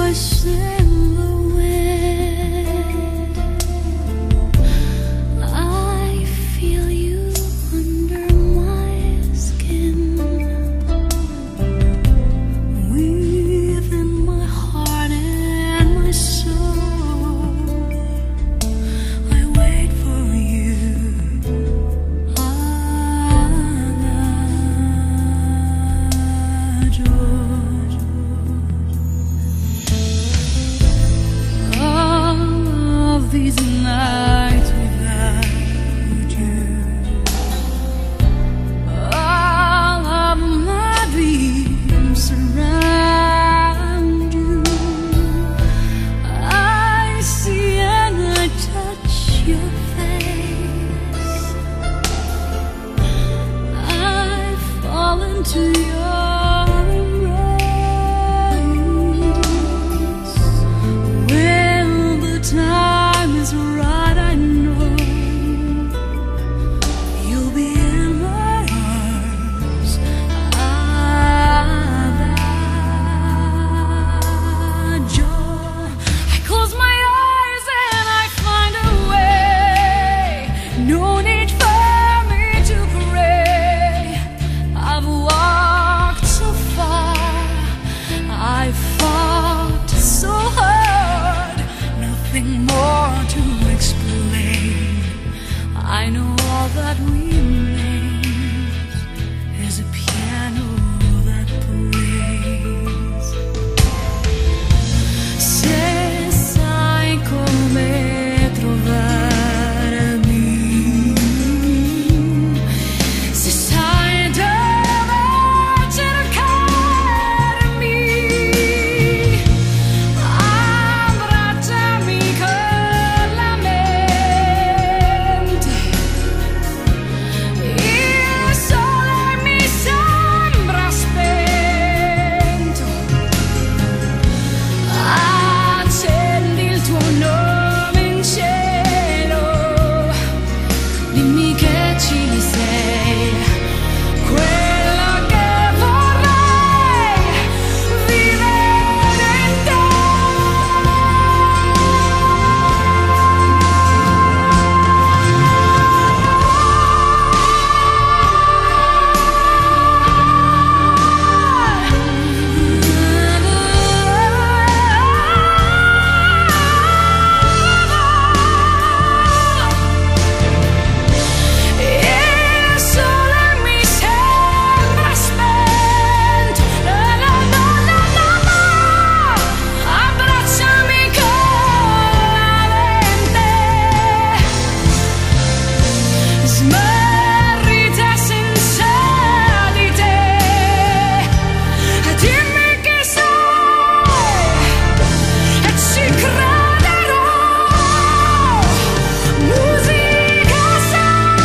voice in the wind. I feel you under my skin, within my heart and my soul. I wait for you. These nights without you, all of my dreams surround you. I see and I touch your face. I fall into your embrace. When the time is right, I know you'll be in my arms. That joy. I close my eyes and I find a way. No need for me to pray. I've walked so far, I've fought so hard. Nothing more to explain. I know all that remains is a piano that plays. Se sai come trovarmi, se sai dove cercarmi, abbracciami con la mente. Il sole mi sembra spento. Accendi il tuo nome in cielo, dimmi che ci sei, quello che vorrei vivere in te. Il sole mi sembra spento. Abbracciami con la mente, smarrita senza di te. Dimmi che sei e ci crederò. Musica sei,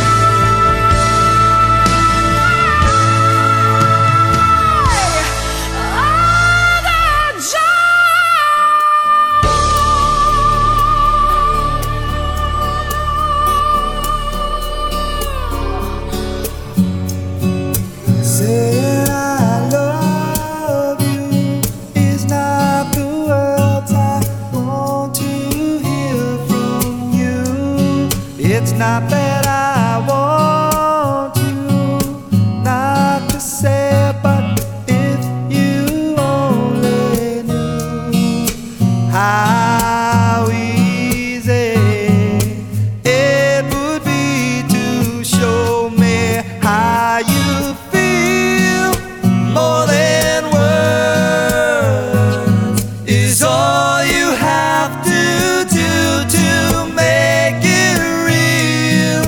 Saying I love you is not the words I want to hear from you. It's not that I want you not to say it, but if you only knew how easy it would be to show me how you feel. More than words is all you have to do to make it real.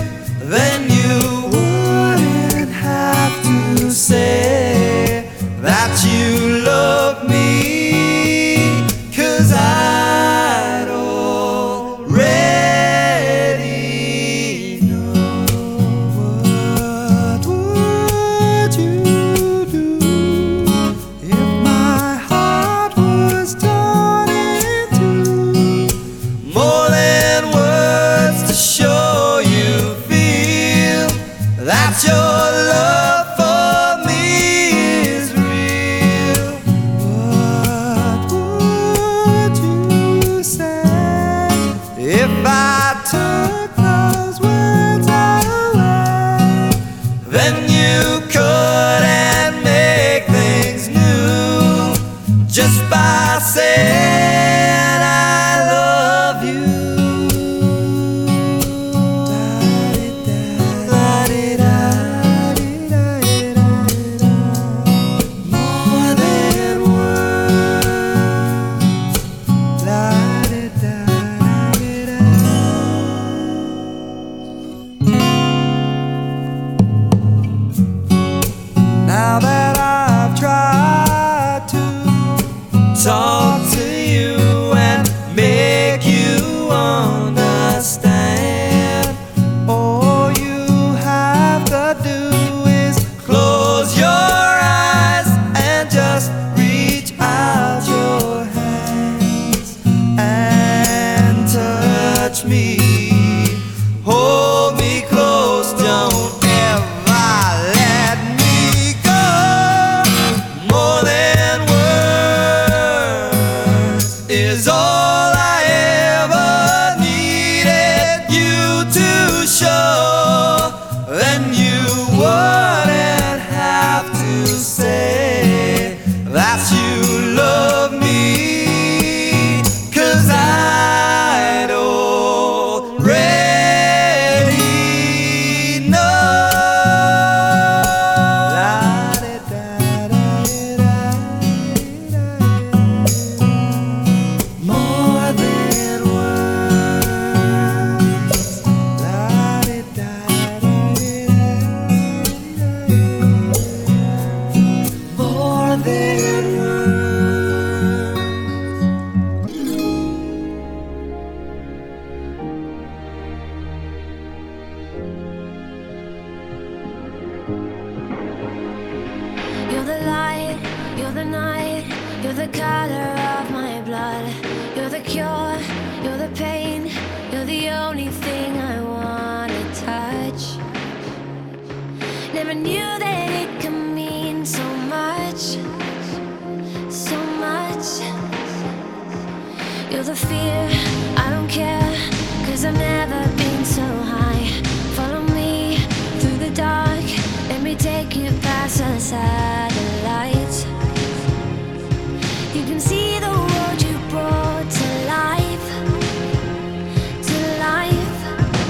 You're the night, you're the color of my blood. You're the cure, you're the pain. You're the only thing I wanna touch. Never knew that it could mean so much, so much. You're the fear, I don't care, 'cause I've never been so high. Follow me through the dark, let me take you past the satellites. You can see the world you brought to life, to life.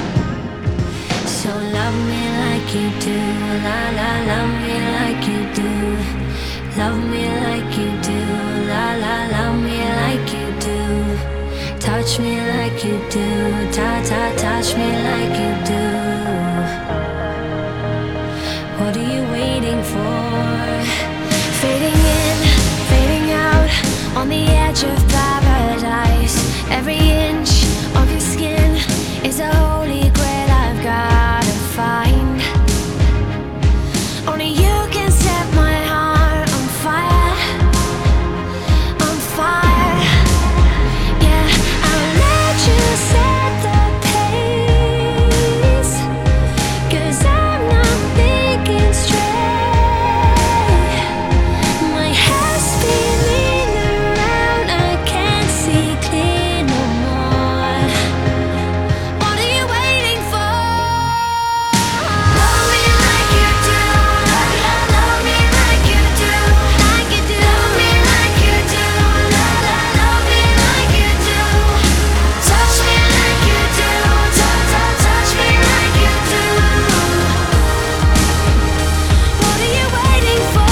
So love me like you do, la la, love me like you do. Love me like you do, la la, love me like you do. Touch me like you do, ta ta, touch me like you do. What are you waiting for? Fading in, fading out, on the edge of paradise. Every inch of your skin is a holy grail I've gotta find. Only you can set my heart on fire, on fire. Yeah, I'll let you set the pace, 'cause I'm not thinking straight. My head's spinning around, I can't see clear no more. What are you waiting for? Love me like you do, love me like you do, like you do. Love me like you do, love me like you do. Touch me like you do, touch me like you do. What are you waiting for?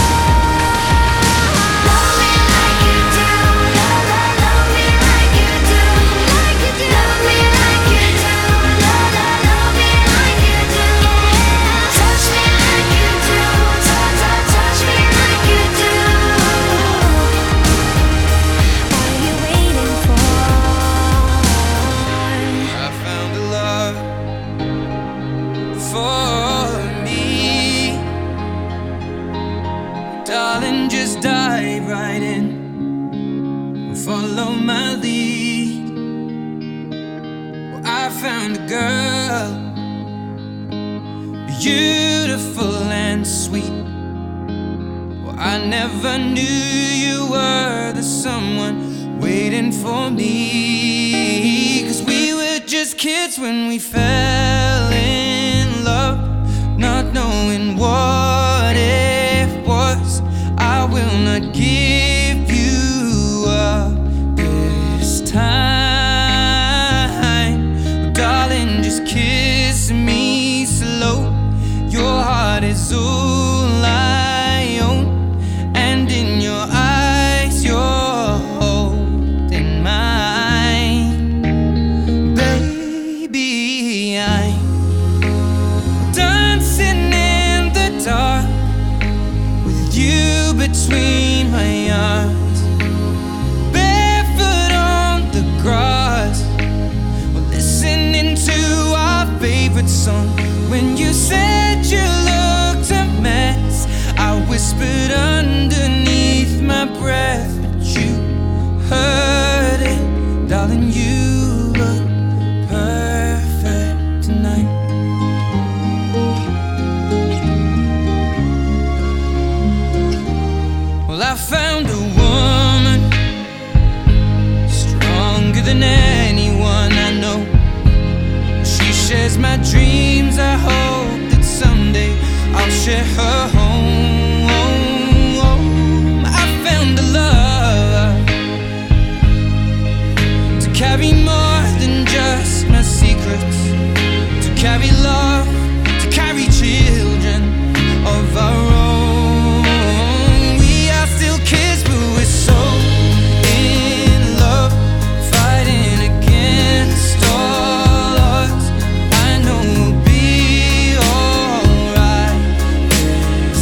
Love me like you do, love me like you do, like you do. Love me like you do, love me like you do. Touch me like you do, touch me like you do. What are you waiting for? I found a love for me. Darling, just dive right in and follow my lead. Well, I found a girl, beautiful and sweet. Well, I never knew you were the someone waiting for me. 'Cause we were just kids when we fell in love, not knowing what it was. I will not give you up this time. Darling, just kiss me slow. Your heart is all I own, and in your eyes you're holding mine. Baby, I'm dancing in the dark with you between my arms, barefoot on the grass. We're listening to our favorite song. When you said you looked a mess, I whispered underneath my breath, but you heard it. Darling, you look perfect tonight. Well, I found a woman stronger than anyone I know. She shares my dreams. I hope that someday I'll share her home. I found a love to carry more than just my secrets, to carry love, to carry children of our own. We are still kids, but we're so in love, fighting against all odds. I know we'll be alright.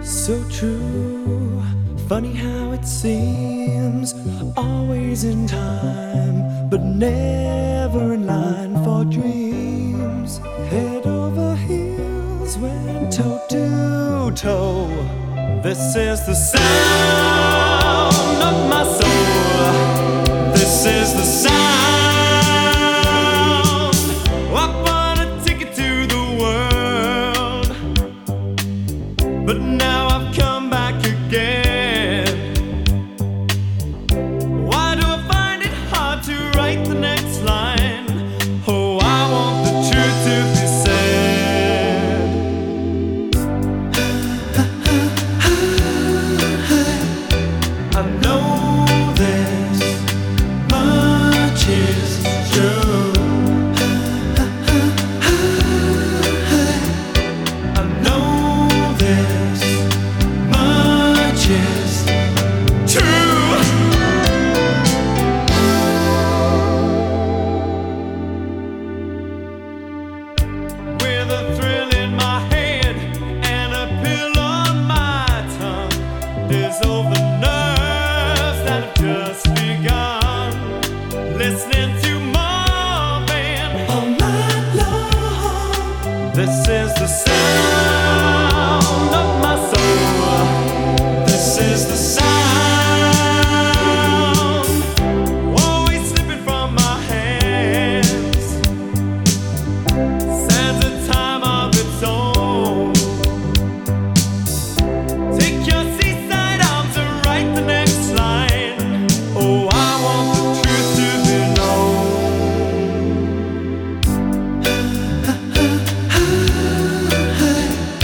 So true, funny how it seems, always in time, but never in line for dreams. Head over heels, went toe to toe. This is the sound of my soul. This is the sound. I bought a ticket to the world, but now I've come back again. Why do I find it hard to write the next line? Oh, I want the truth to be said. I know this much is true. I know this much is true. With a thrill in my head and a pill on my tongue, dissolve the nerves that have just begun. Listening to Marvin all night long. This is the sound of my soul. This is the sound, always slipping from my hands. Stands a time of its own. Take your seaside arms and write the next line. Oh, I want the truth to be known. I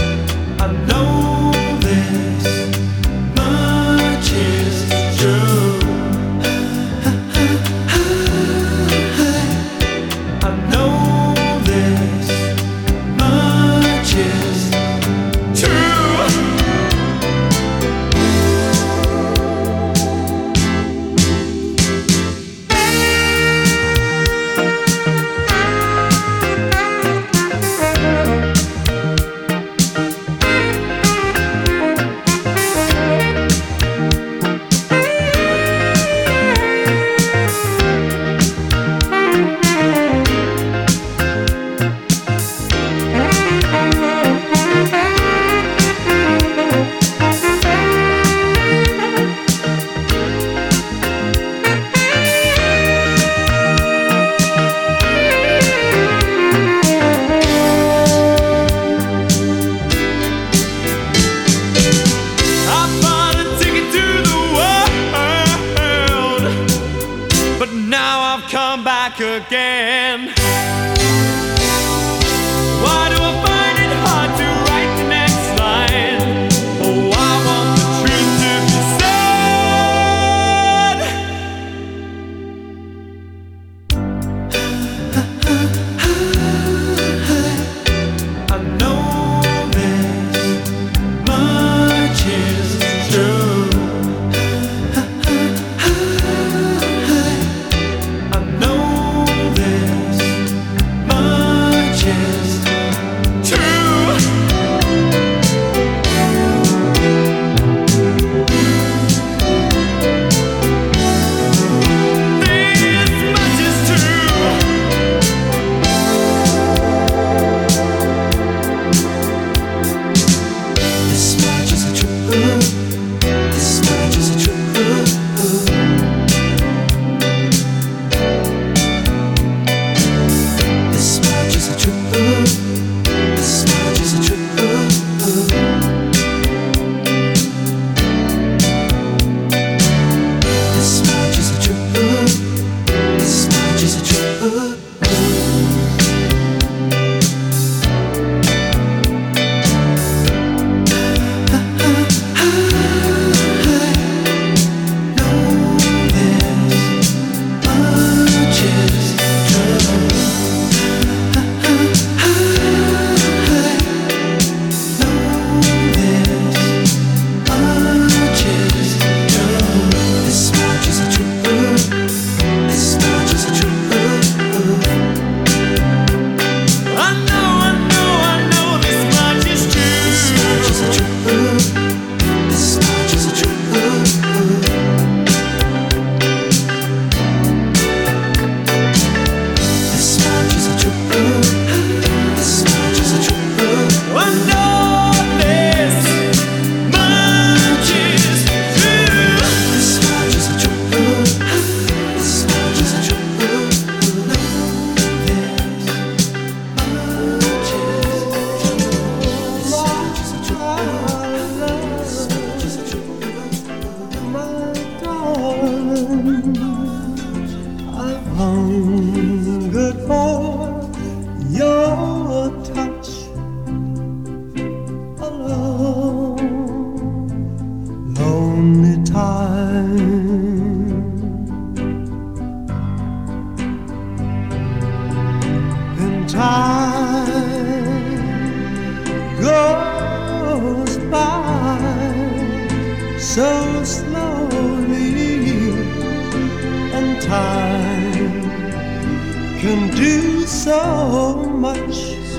so slowly, and time can do so much.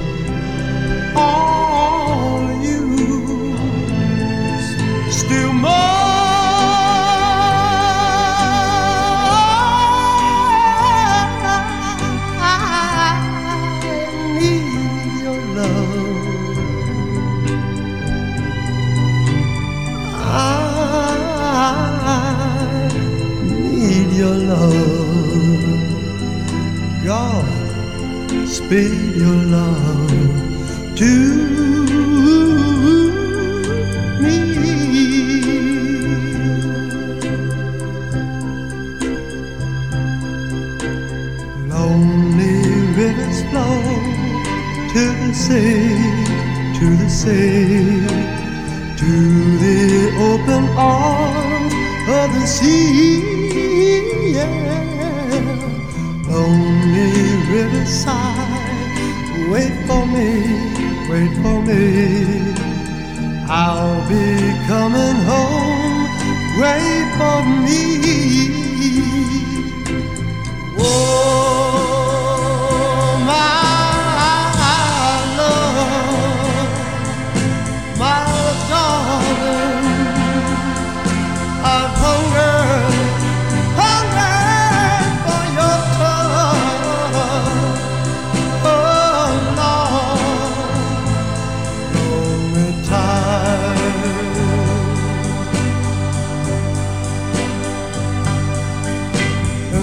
All you still more. Your love, God, speed your love to me. Lonely rivers flow to the sea, to the sea, to the open arms of the sea. Lonely riverside, wait for me, wait for me. I'll be coming home, wait for me. Oh, my love, my darling, I've hungered for your touch. Oh, Lord, lonely time.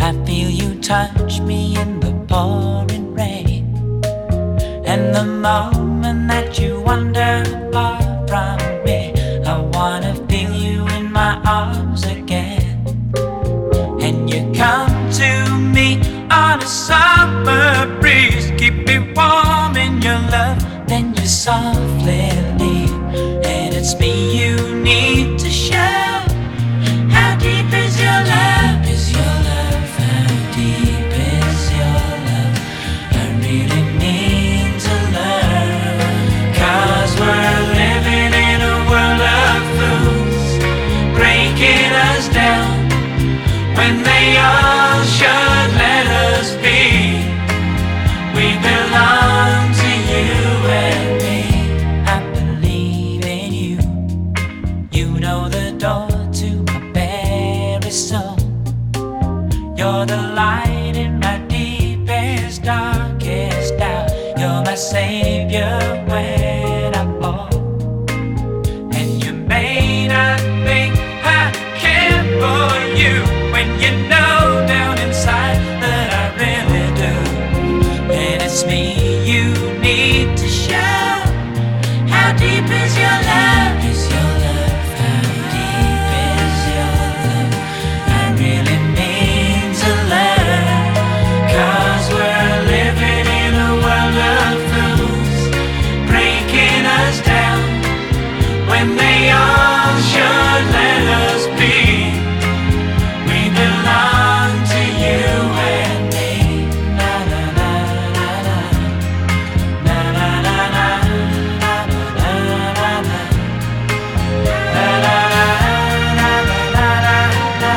I feel you touch me in the pouring rain, and the moment that you wander far from me, I wanna feel you in my arms again. And you come to me on a summer breeze, keep me warm in your love, then you softly leave. And it's me you need to show. How deep is your love? Is your love? How deep is your love? I really need to learn. 'Cause we're living in a world of fools, breaking us down when they all should let us be. We belong to you and me. I believe in you. You know the door to my very soul. You're the light in my deepest, darkest doubt. You're my savior when I fall. And you may not think I care for you, when you know down inside that I really do. And it's me you need to show. How deep is your love? Is your love? How deep is your love? I really need to learn. 'Cause we're living in a world of fools, breaking us down when they all should let us be. We belong to you and me. Na na na na na. Na na na na. Na na na na. Na na na na na na na.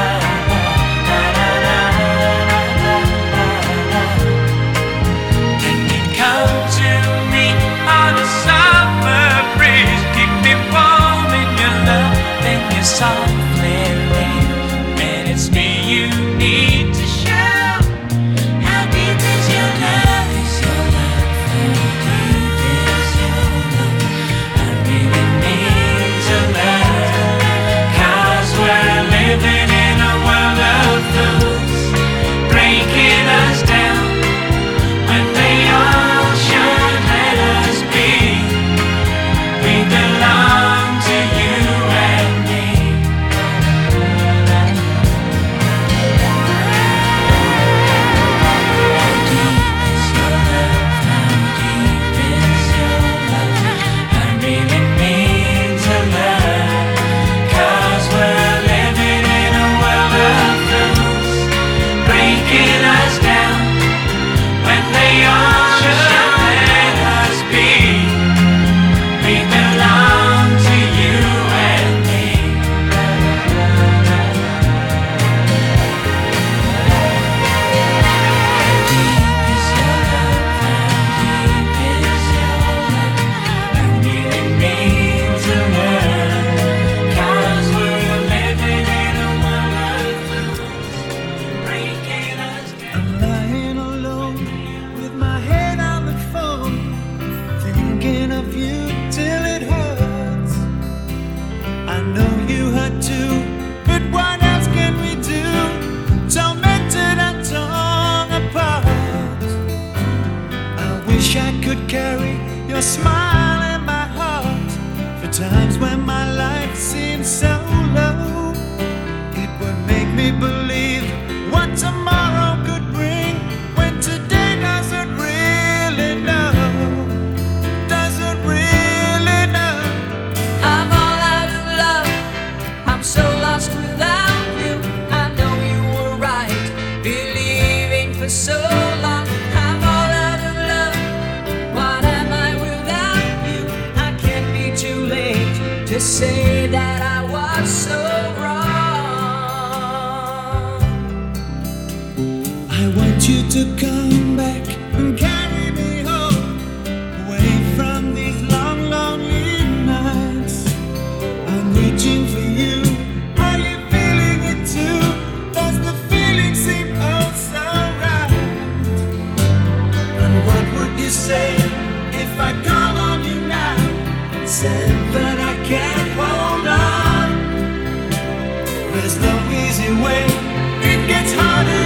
And you come to me on a summer breeze, keep me warm in your love, then you softly leave. And it's me you need to show. How deep is your love? Is your love? How deep is your love? I really need to learn. 'Cause we're living in a world of fools, breaking us down when they all should let us be. We belong to you and me. How deep is your love? How deep is your love? I really need to learn. 'Cause we're living in a world of fools, breaking us down when they all should let us be. We belong to you and me. How deep is your love? How deep is your love? I really need to learn. 'Cause we're living in a world of fools, breaking us down. I'm lying alone with my head on the phone, thinking of you till it hurts. I know you hurt too, but what else can we do? Tormented and torn apart. I wish I could carry your smile in my heart for times when my life seems so low. It would make me believe what tomorrow could bring, when today doesn't really know. Doesn't really know. I'm all out of love. I'm so lost without you. I know you were right, believing for so long. I'm all out of love. What am I without you? I can't be too late to say that I was so wrong. I want you to come back and carry me home, away from these long, lonely nights. I'm reaching for you. Are you feeling it too? Does the feeling seem oh so right? And what would you say if I call on you now and said that I can't hold on? There's no easy way. It gets harder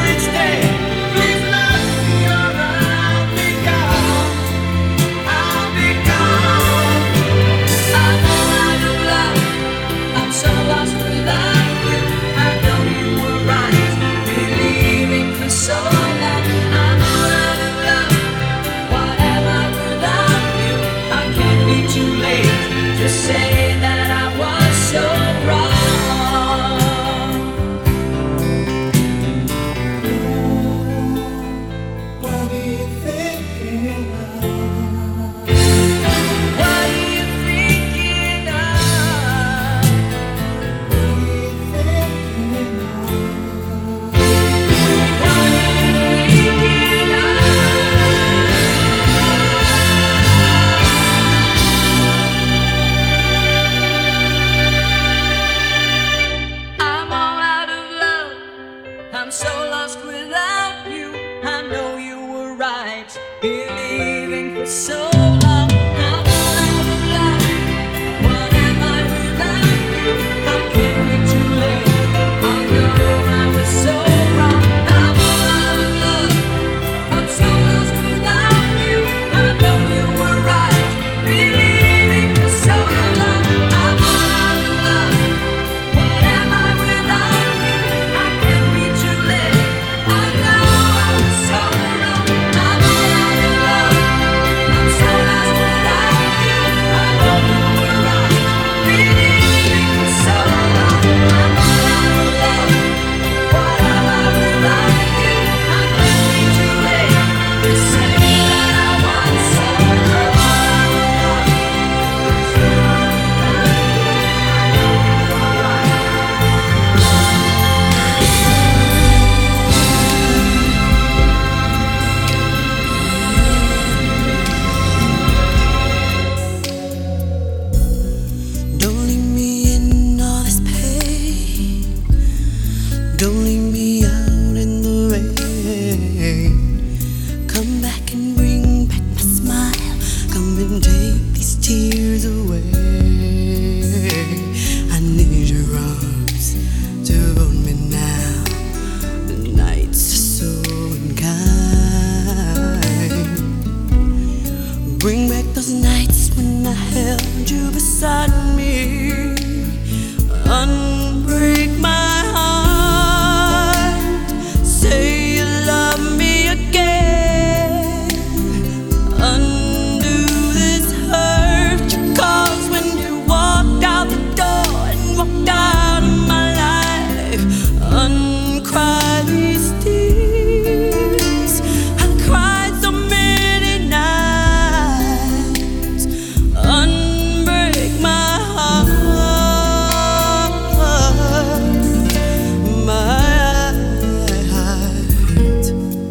I'm so lost without you. I know you were right, believing for so long. I'm out of love. What am I without you? How can we too late? Although I was so wrong. I'm out of love. I'm so lost without you. I know you were right, believing for so long. I'm out of love. What am I without you? How can we too late? I know I was so wrong. I'm out of love. I'm so lost without you. I know you were right, believing for so long. I'm out of love. What am I without you? How can we too late? You say that I want so love. Don't leave me in all this pain. Don't leave me out in the rain. Come back and bring back my smile. Come and take these tears away. I need your arms to hold me now. The nights are so unkind. Bring back those nights when I held you beside me. Unbreak my heart. Say you love me again. Undo this hurt you caused when you walked out the door and walked out of my life. Uncry these tears. I cried so many nights. Unbreak my heart, my heart.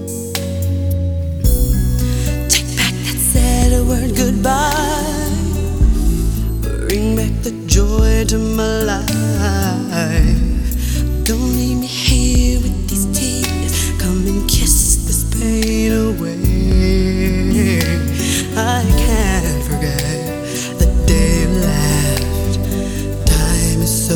Take back that sad word goodbye. Bring back the joy to my life. Don't leave me here with these tears. Come and kiss this pain away. I can't forget the day you left. Time is so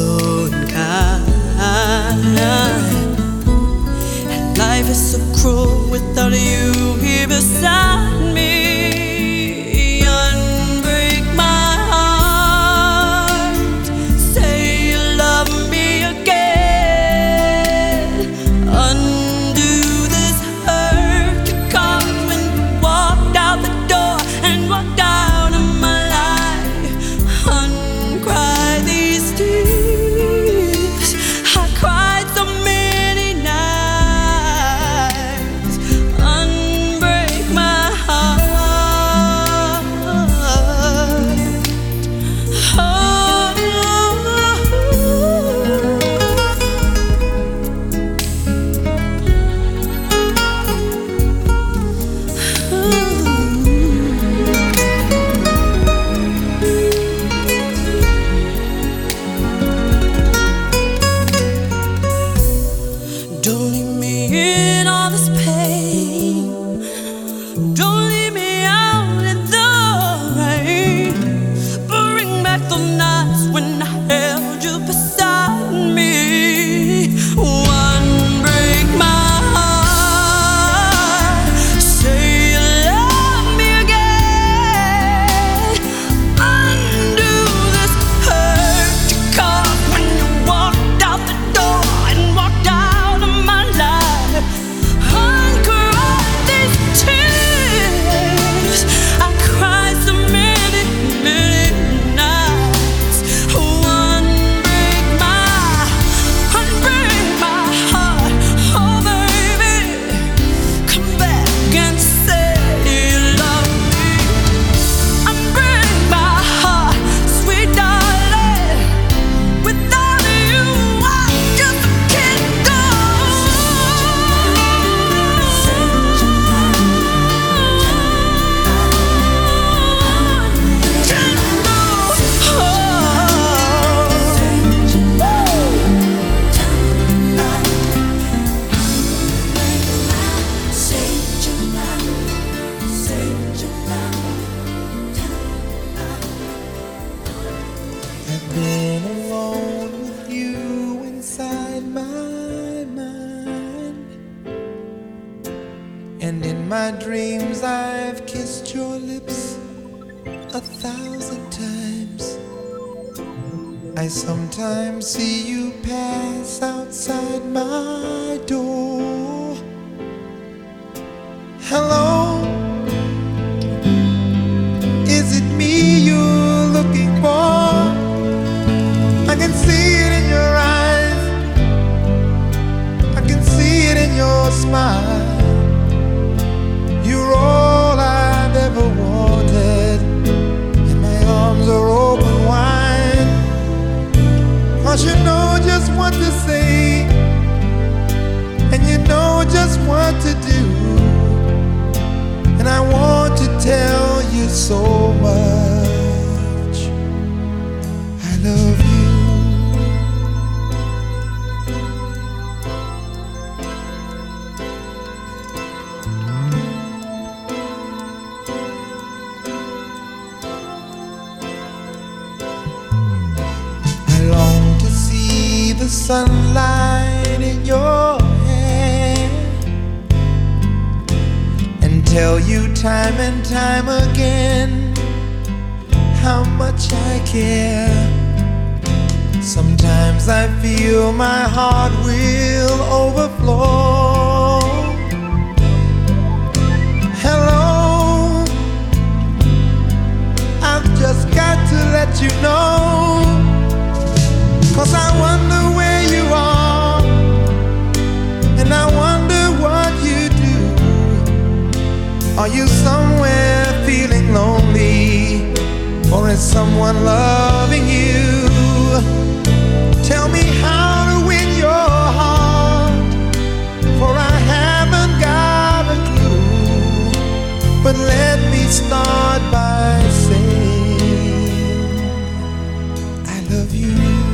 unkind, and life is so cruel without you here beside me. Unbreak my heart. Say you love me again. Undo this hurt you caused when you walked out the door and walked out of my life. Uncry these tears. I cried so many nights. Unbreak my heart. Don't leave me in all this pain. Don't leave me out in the rain. Bring back the nights when I held you beside me. One break my heart. Say you love me again. Undo this hurt you caused when you walked out the door and walked out of my life. And in my dreams I've kissed your lips 1,000 times. I sometimes see you pass outside my door. Hello, is it me you're looking for? I can see it in your eyes, I can see it in your smile. You're all I've ever wanted, and my arms are open wide. 'Cause you know just what to say, and you know just what to do. And I want to tell you so much. I love you. I long to see the sunlight in your hair and tell you time and time again how much I care. Sometimes I feel my heart will overflow. Hello, I've just got to let you know, 'cause I wonder where you are, and I wonder what you do. Are you somewhere feeling lonely, or is someone loving you? Tell me how to win your heart, for I haven't got a clue. But let me start by saying I love you.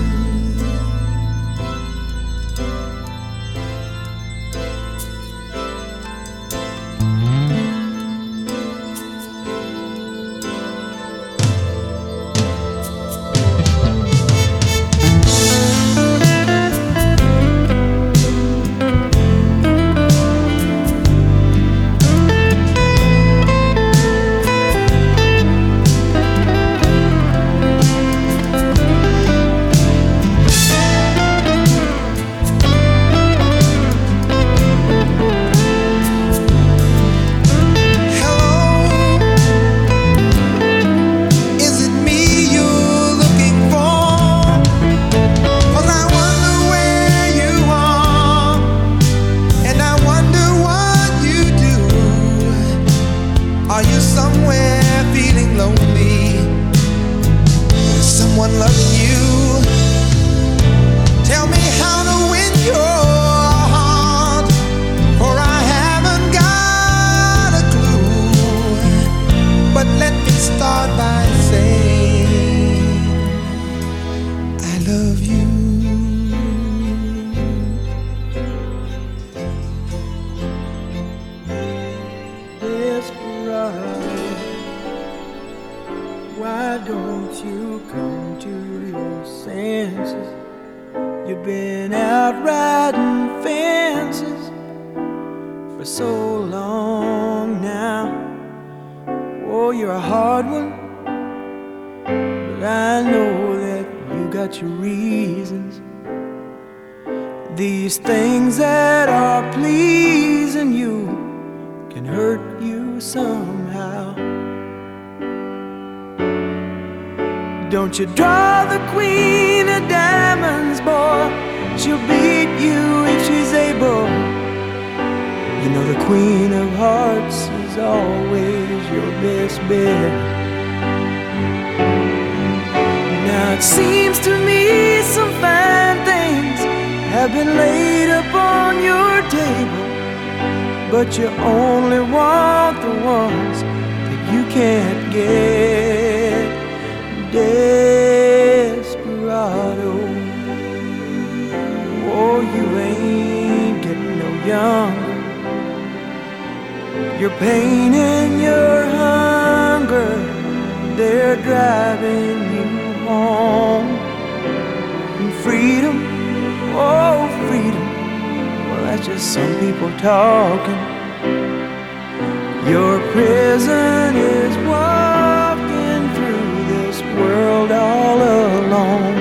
Are you somewhere feeling lonely? Is someone loving you? Tell me how to win your heart, for I haven't got a clue. But let me start by saying I love you. Why don't you come to your senses? You've been out riding fences for so long now. Oh, you're a hard one, but I know that you got your reasons. These things that are pleasing you can hurt you somehow. Don't you draw the queen of diamonds, boy. She'll beat you if she's able. You know the queen of hearts is always your best bet. Now it seems to me some fine things have been laid upon your table, but you only want the ones that you can't get. Desperado, oh, you ain't getting no younger. Your pain and your hunger, they're driving you home. And freedom, oh freedom, well that's just some people talking. Your prison is walking through this world all alone.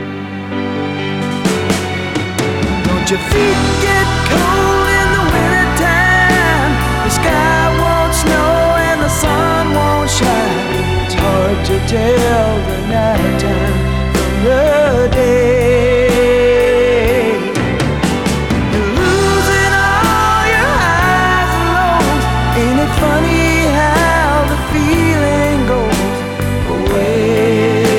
Don't your feet get cold in the wintertime? The sky won't snow and the sun won't shine. It's hard to tell the night time from the day. You're losing all your highs and lows. Ain't it funny how the feeling goes away?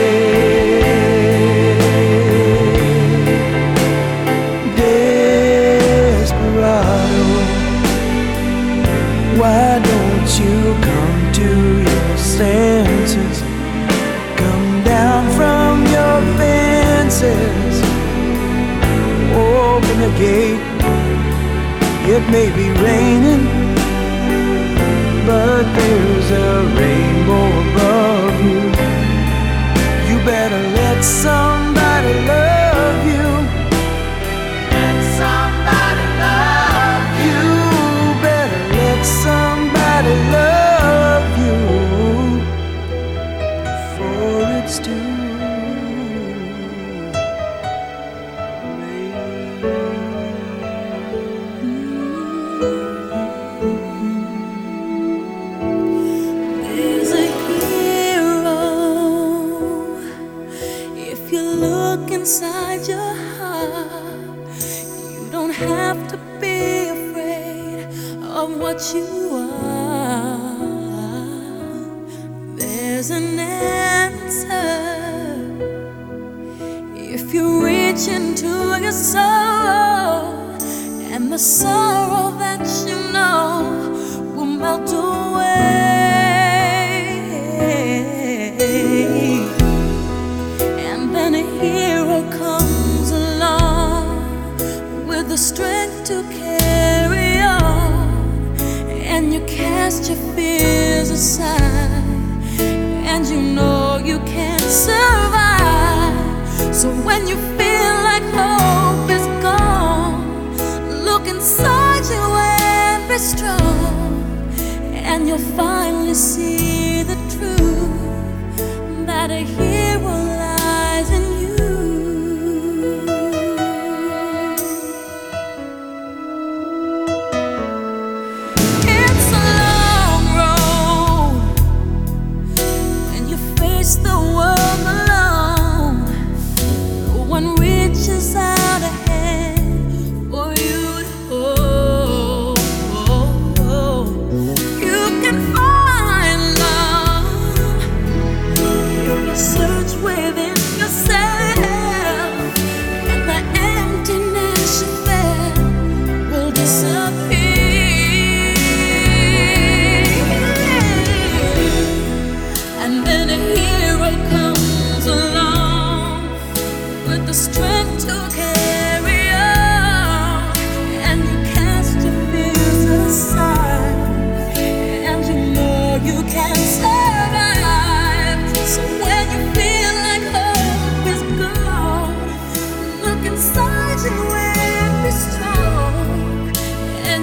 Desperado, why don't you come to your senses? Come down from your fences. Open the gate. It may be raining, but there's a rainbow above you. You better let somebody love you. Let somebody love you. Better let somebody love you before it's too There's a hero if you look inside your heart. You don't have to be afraid of what you are. There's an answer if you reach into your soul, and the sorrow that you know will melt away. And then a hero comes along with the strength to carry on, and you cast your fears aside, and you know you can survive. So when you feel like hope is gone, look inside you and be strong, and you'll finally see the truth that a hero lies in you. It's a long road when you face the world alone. No one reaches out a hand for you to hold. You can find love if you search within yourself, and the emptiness you felt will disappear. And then a hero comes along with the strength to carry on, and you cast your fears aside, and you know you can survive. So when you feel like hope is gone, look inside you and be strong,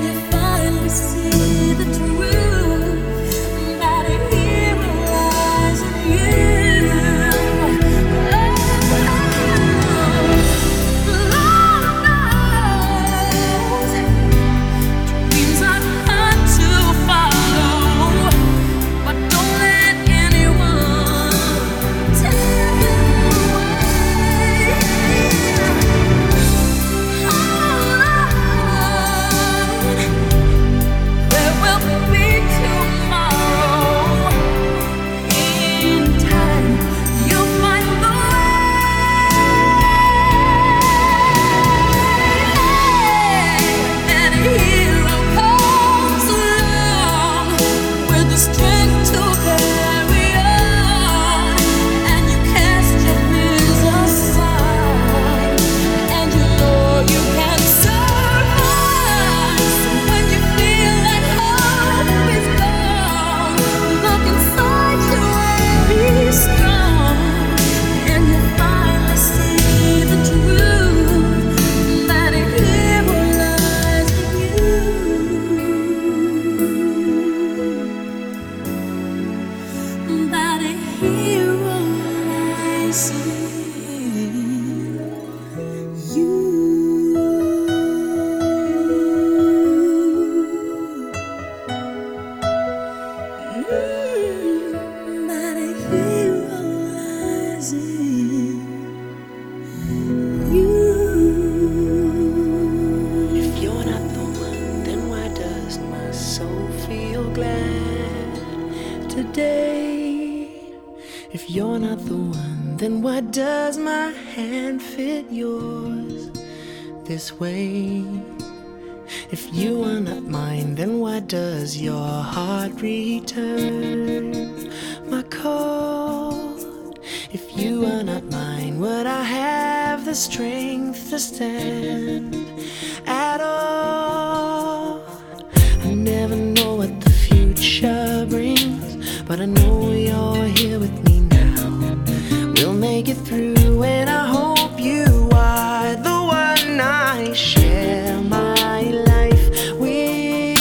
today. If you're not the one, then why does my hand fit yours this way? If you are not mine, then why does your heart return my call? If you are not mine, would I have the strength to stand at all? I never know what the future brings, but I know you're here with me now. We'll make it through, and I hope you are the one I share my life with.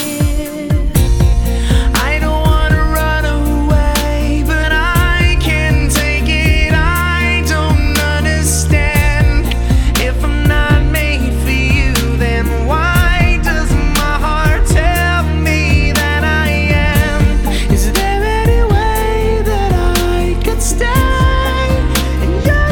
I don't wanna run away, but I can't take it. I don't understand. If I'm not made for you, then why does my heart tell me that I am? Is there any way that I could stay in your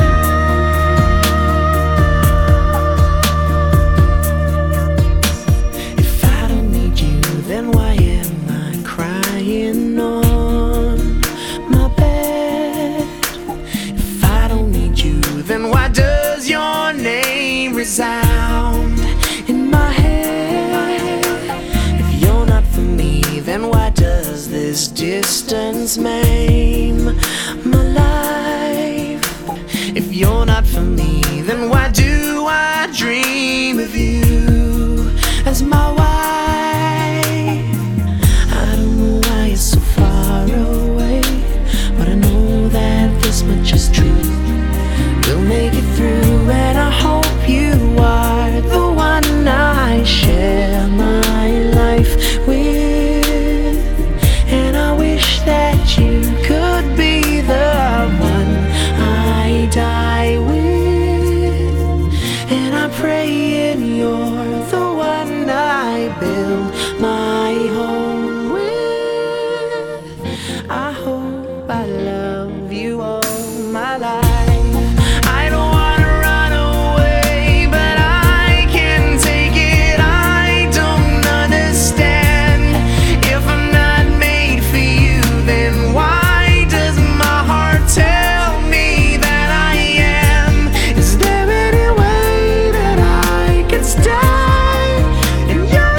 life? If I don't need you, then why am I crying on my bed? If I don't need you, then why does your name resound in my head? If you're not for me, then why does this distance maim my life? If you're not for me, then why do I dream of you as my wife? I don't know why you're so far away, but I know that this much is true. We'll make it through, and I hope you are the one I share my life with. And I wish that you could be the one I die with. And I pray and you're the one I build my home with. I hope I love you all my life. I don't wanna run away, but I can't take it. I don't understand. If I'm not made for you, then why does my heart tell me that I am? Is there any way that I could stay in your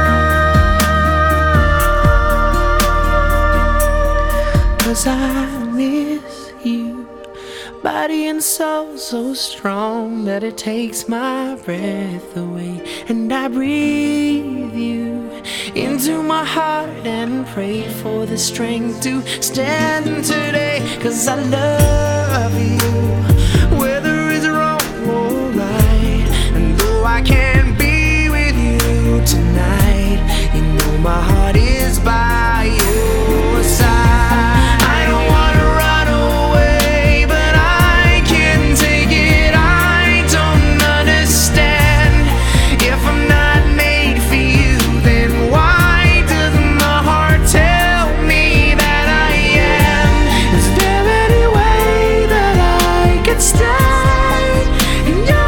life? 'Cause I miss you, body and soul so strong that it takes my breath away. And I breathe you into my heart and pray for the strength to stand today. 'Cause I love you, whether it's wrong or right. And though I can't be with you tonight, you know my heart is by your side. I don't wanna run away, but I can't take it. I don't understand. If I'm not made for you, then why does my heart tell me that I am? Is there any way that I could stay in your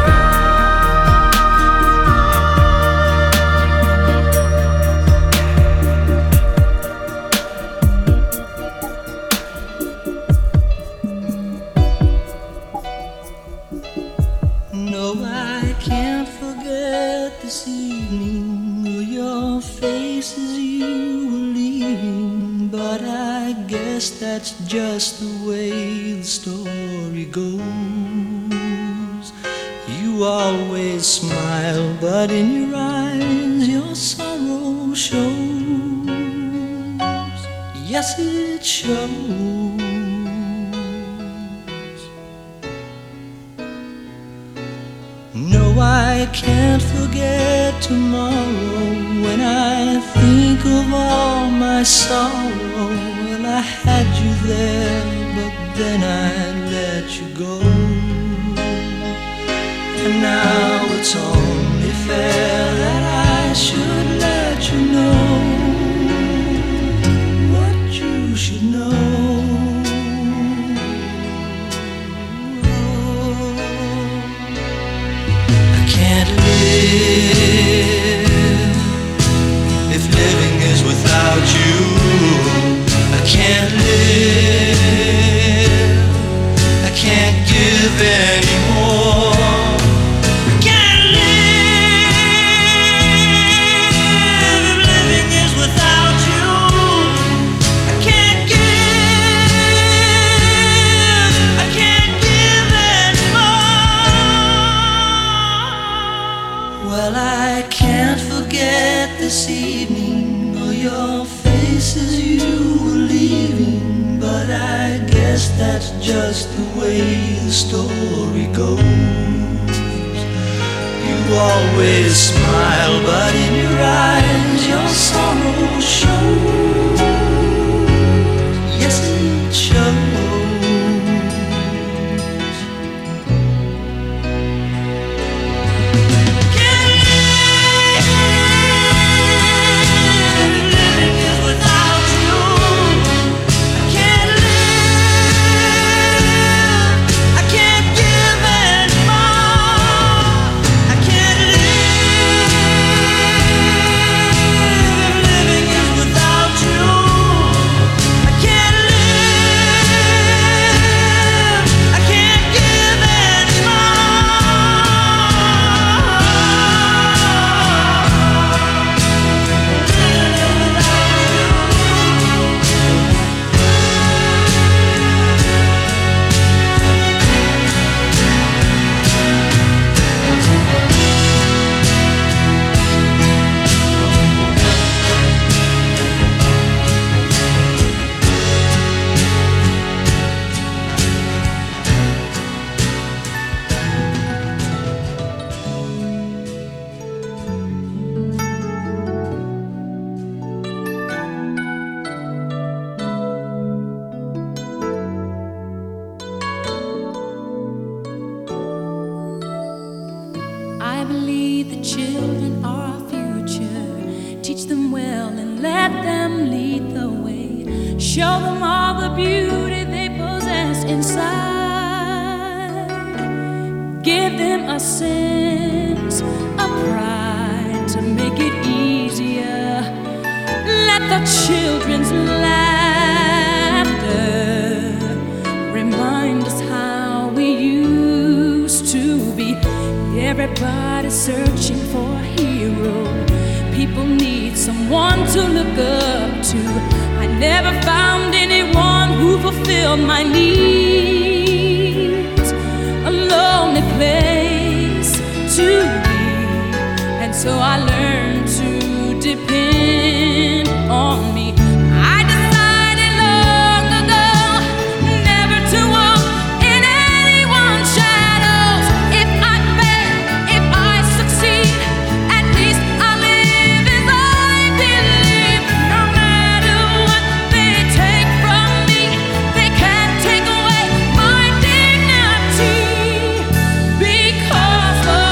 No, I can't forget this evening or your face as you were leaving. But I guess that's just the way the story goes. You always smile, but in your eyes your sorrow shows. Yes, it shows. No, I can't forget tomorrow when I think of all my sorrow. Well, I had you there, but then I let you go. And now it's only fair that I should let you know what you should know. I can't live if living is without you. I can't live this evening, or your face as you were leaving. But I guess that's just the way the story goes. You always smile, but in your eyes your sorrow shows. Yes, it shows. I believe the children are our future. Teach them well and let them lead the way. Show them all the beauty they possess inside. Give them a sense of pride to make it easier. Let the children's laughter remind us how we used to be. Everybody's searching for a hero. People need someone to look up to. I never found anyone who fulfilled my needs. A lonely place to be, and so I learned to depend on me. I decided long ago never to walk in anyone's shadows. If I fail, if I succeed, at least I live as I believe. No matter what they take from me, they can't take away my dignity. Because the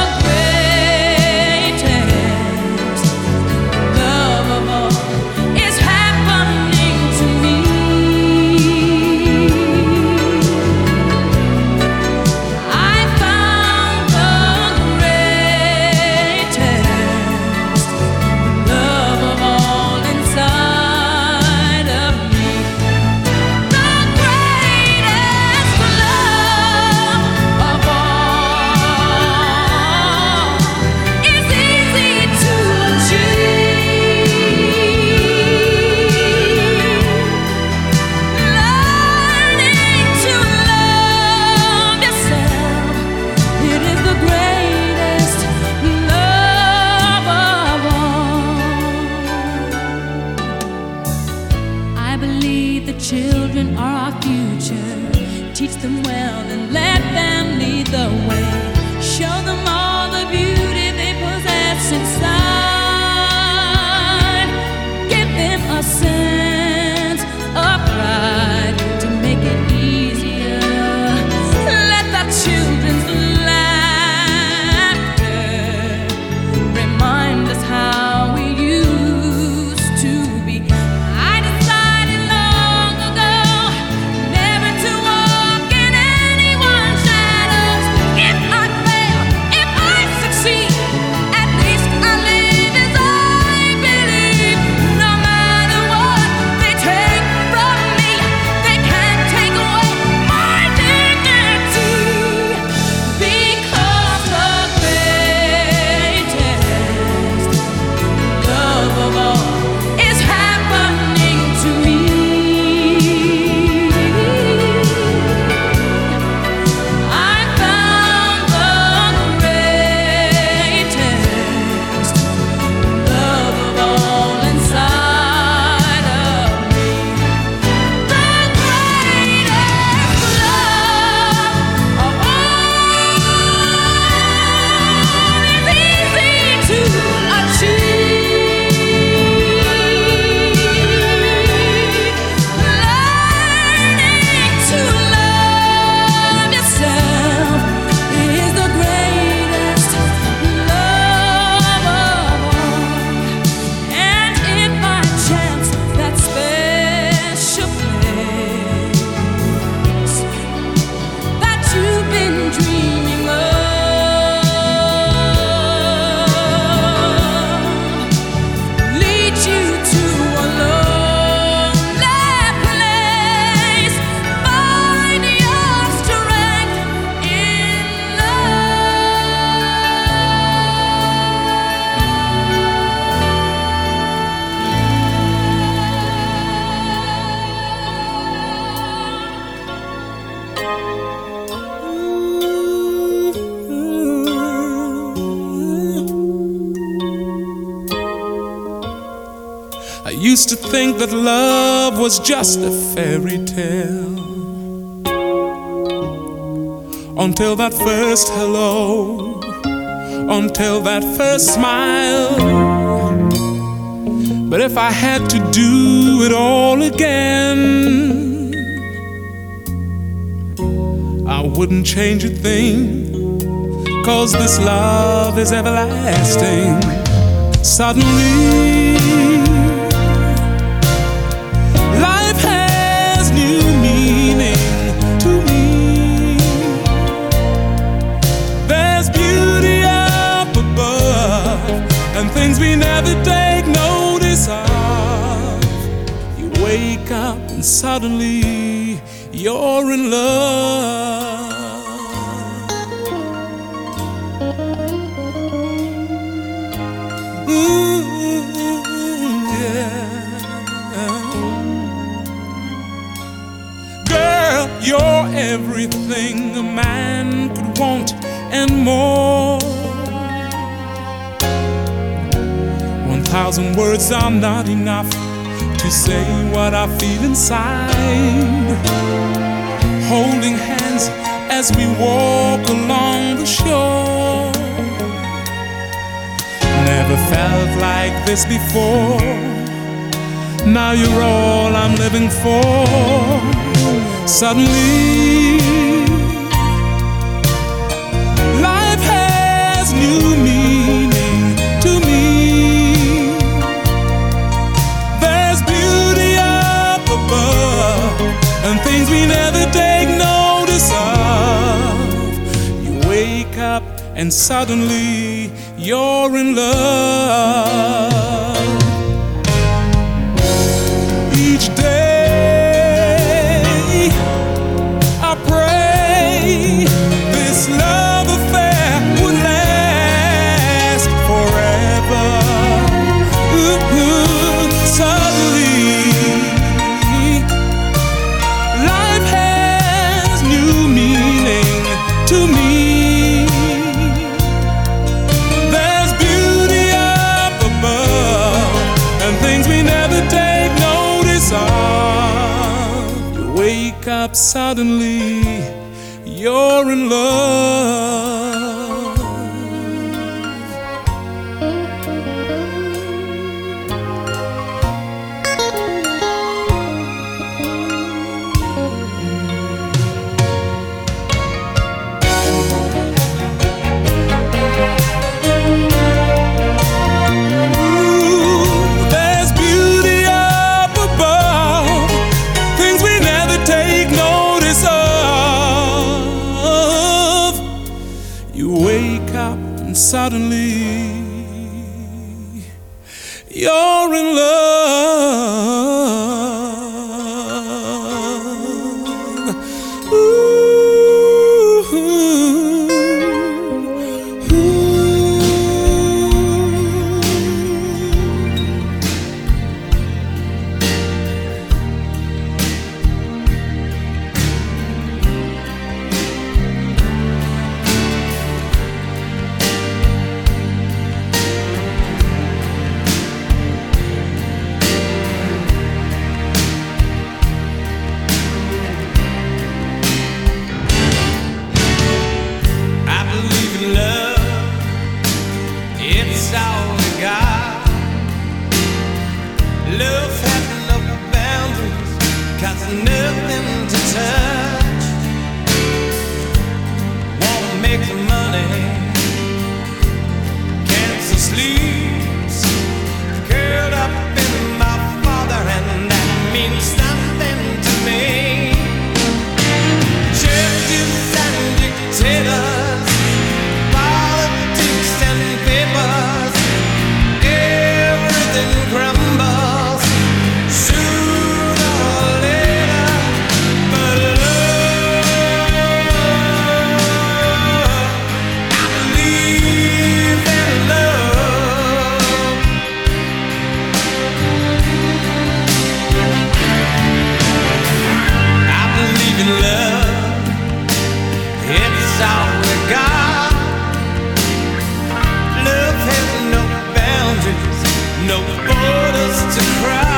greatest love of all is happening to me. I found the greatest love of all inside of me. The greatest love of all is easy to achieve. Learning to love yourself, it is the greatest love of all. I believe the children are our future. Teach them well and let them lead the way. Show them all the beauty they possess inside. Give them a sense of pride to make it easier. Let the children's laughter remind us how we used to be. I decided long ago never to walk in anyone's shadows. If I fail, if I succeed, at least I I used to think that love was just a fairy tale, until that first hello, until that first smile. But if I had to do it all again, I wouldn't change a thing, 'cause this love is everlasting. Suddenly life has new meaning to me. There's beauty up above and things we never take notice of. You wake up and suddenly you're in love. Girl, you're everything a man could want and more. 1,000 words are not enough to say what I feel inside. Holding hands as we walk along the shore. Never felt like this before. Now you're all I'm living for. Suddenly life has new meaning to me. There's beauty up above and things we never take notice of. You wake up and suddenly you're in love. Each day I pray this love affair would last forever. Suddenly life has new meaning to me. There's beauty up above and things we never take notice of. You wake up suddenly, you're in love. There's beauty up above, things we never take notice of. You wake up and suddenly you're in love. I believe in love, it's all we got. Love has no boundaries, 'cause there's nothing to touch. Wanna make the money, cancer sleeps, curled up in my father, and that means something to me. Churches and dictators, politics and papers, everything crumbles sooner or later. But love, I believe in love. I believe in love, it's all we got. Love has no boundaries, no borders to cross.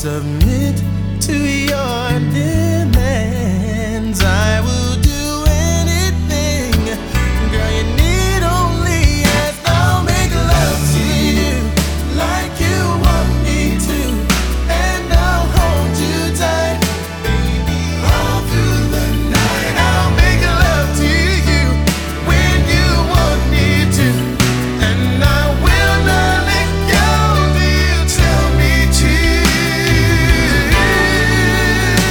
submit to your demands. I will do anything, girl, you need only ask. I'll make love to you like you want me to, and I'll hold you tight, baby, all through the night. I'll make love to you when you want me to, and I will not let go till you tell me to.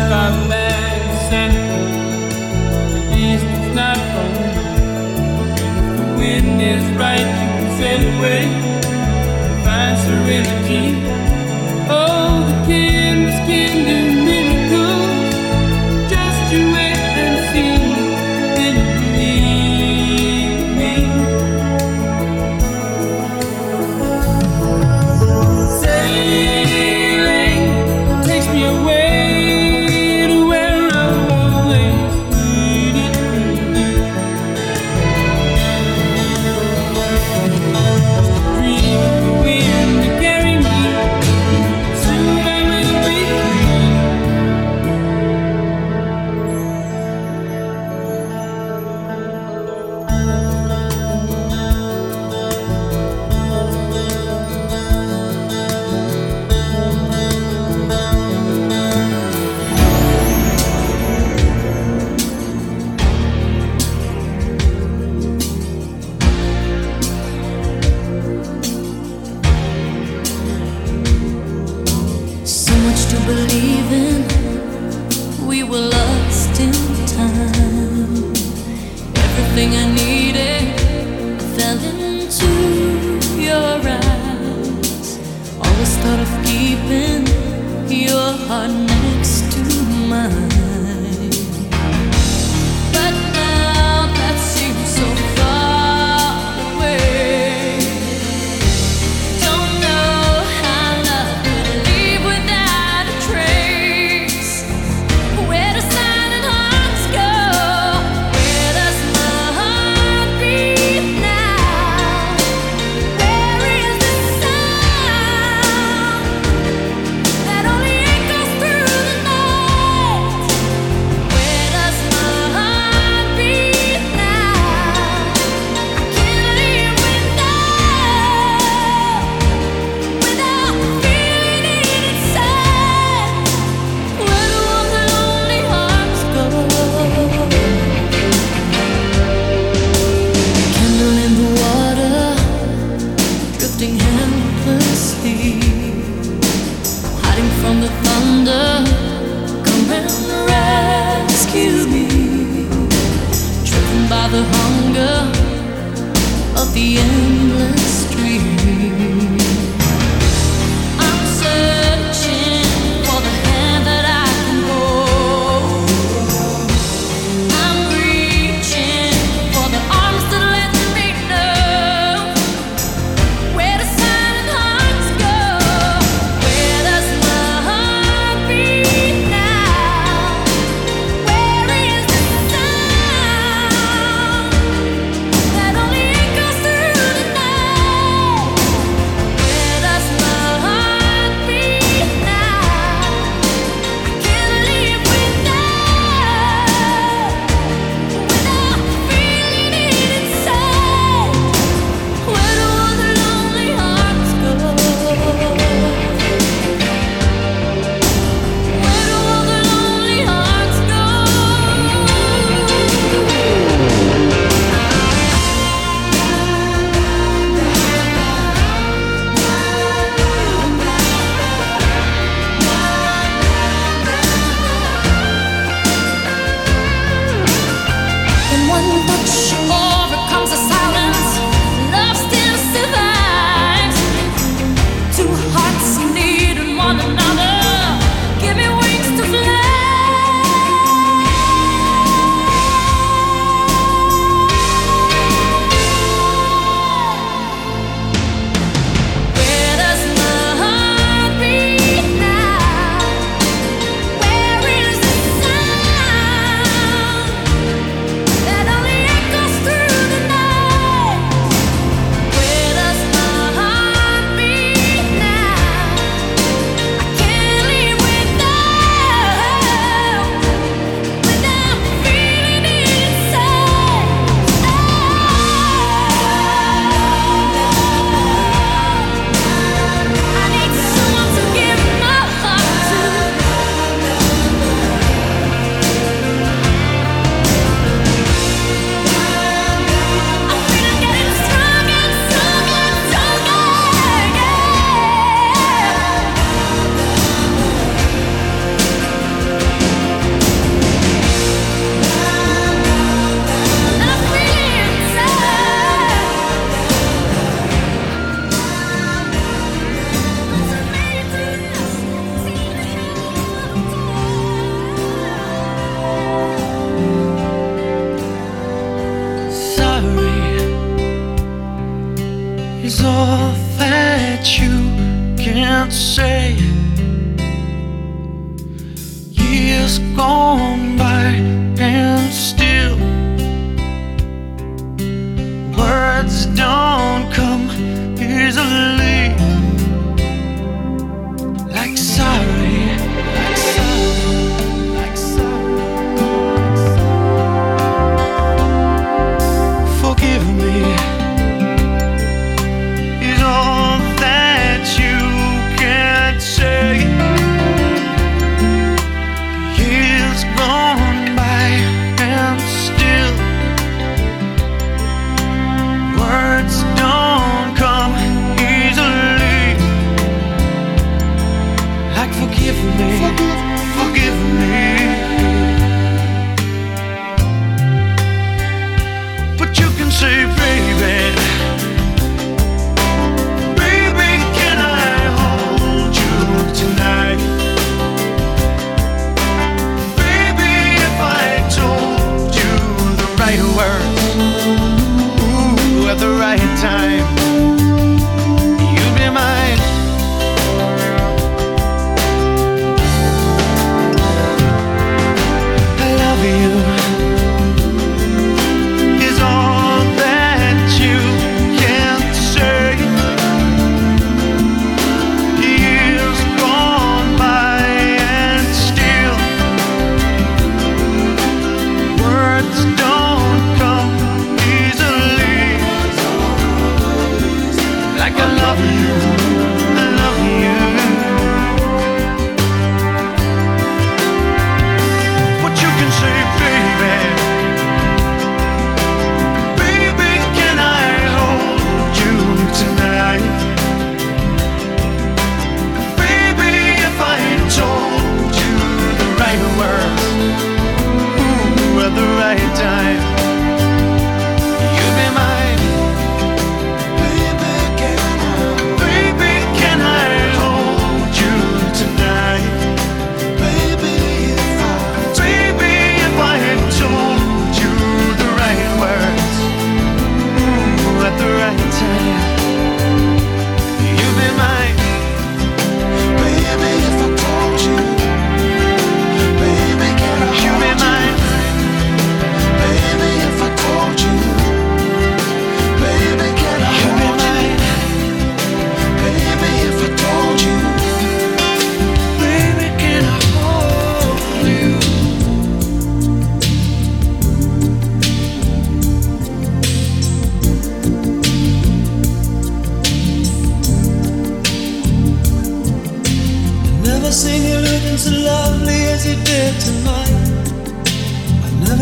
got back to Santa. The east is not wrong. If the wind is right, you can sail away, find serenity. Oh, the canvas can do miracles. Just you wait and see, then you believe me. Sailing takes me away to where I've always needed to be. Just a dream of the wind to carry me. Soon I will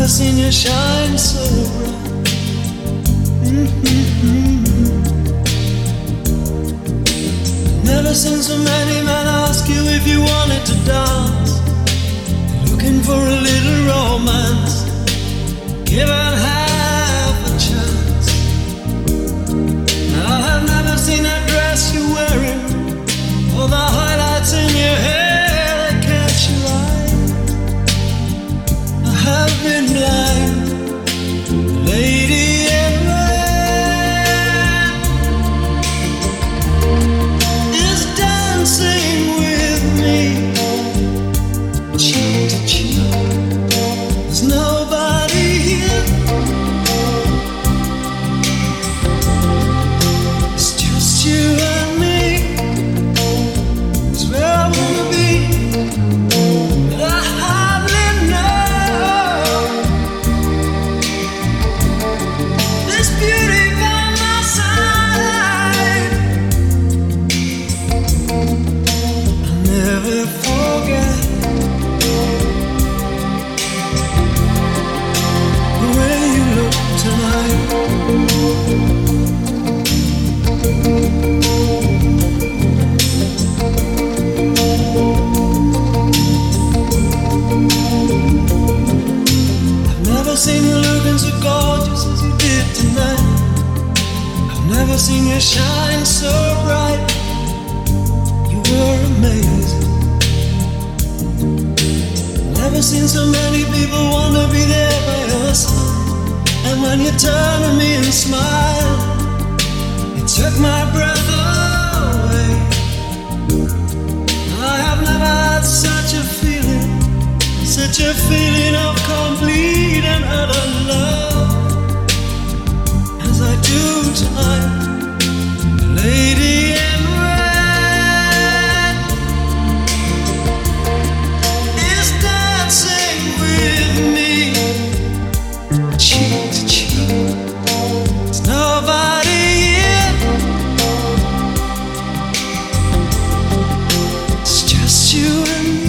never seen you shine so bright. Never seen so many men ask you if you wanted to dance. Looking for a little romance, given half a chance. I have never seen that dress you're wearing, or the highlights in your hair that catch your eye. I have been blind, lady in red is dancing with me, cheek to cheek. There's nobody here. It's just you and me. It's where I wanna be, but I hardly know this beauty by my side. I'll never forget the way you look tonight. I've never seen you looking so gorgeous as you did tonight. I've never seen you shine so bright. You were amazing. Never seen so many people want to be there by your side. And when you turn to me and smile, it took my breath away. I have never had such a feeling of complete and utter love as I do tonight. Lady in red is dancing with me, cheek to cheek. There's nobody here. It's just you and me.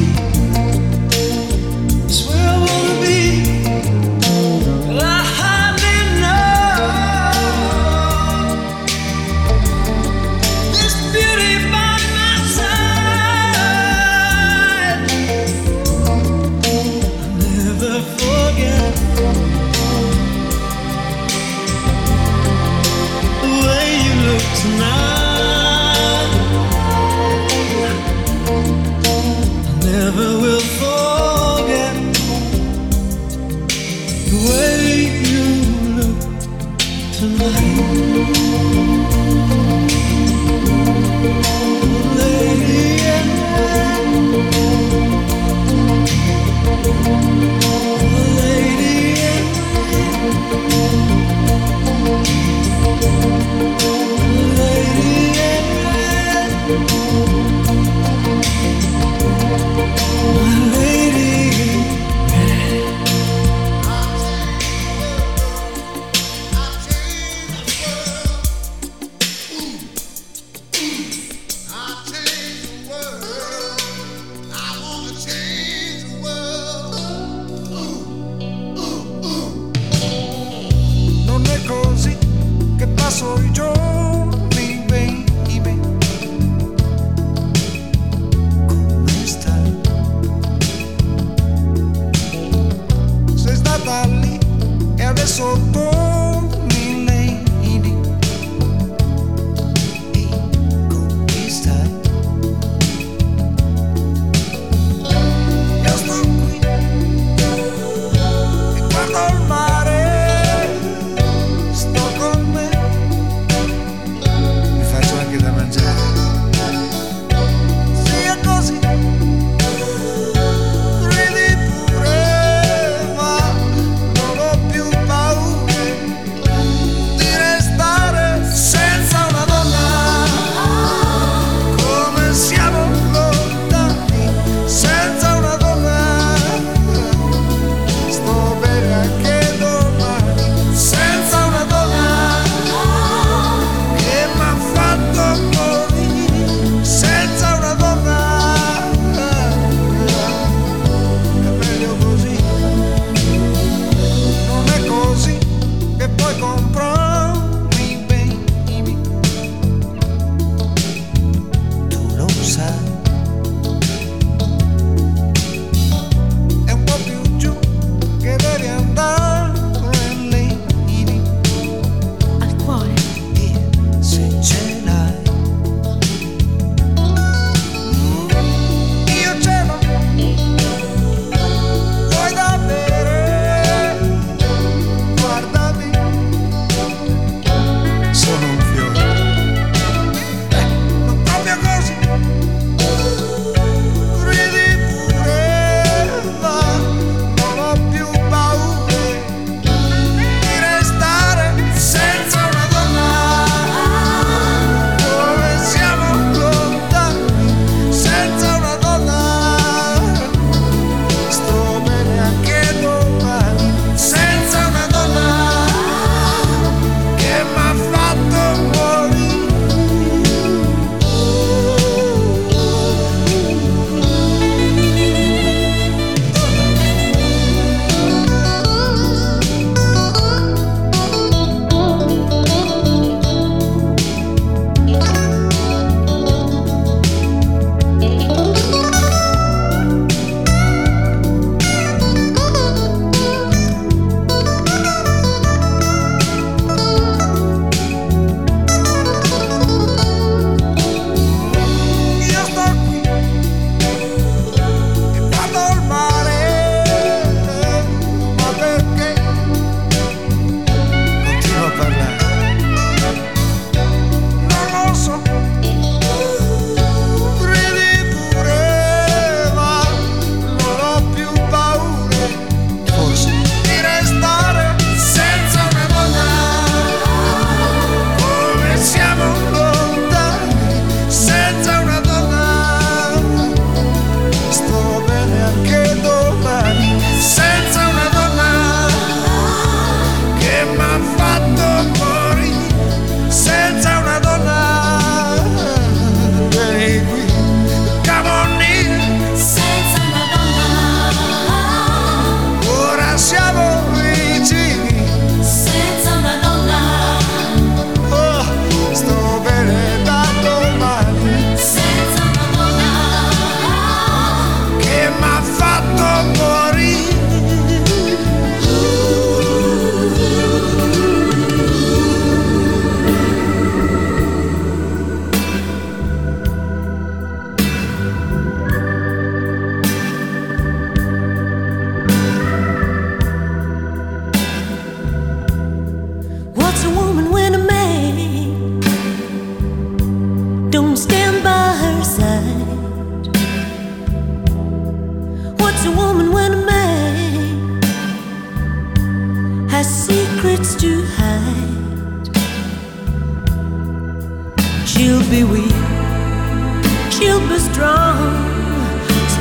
It's where I wanna be, but I hardly know this beauty by my side. I'll never forget the way you look tonight. I never will forget the way you look tonight. Lady in red, lady in red, lady in red, my lady in Non è così che passo i giorni, baby. Come stai? Sei stata lì e adesso torni, lady. Ehi, come stai? Io sto qui e guardo il mare. Sto con me, mi faccio anche da mangiare. Sia così, ridi pure, ma non ho più paura.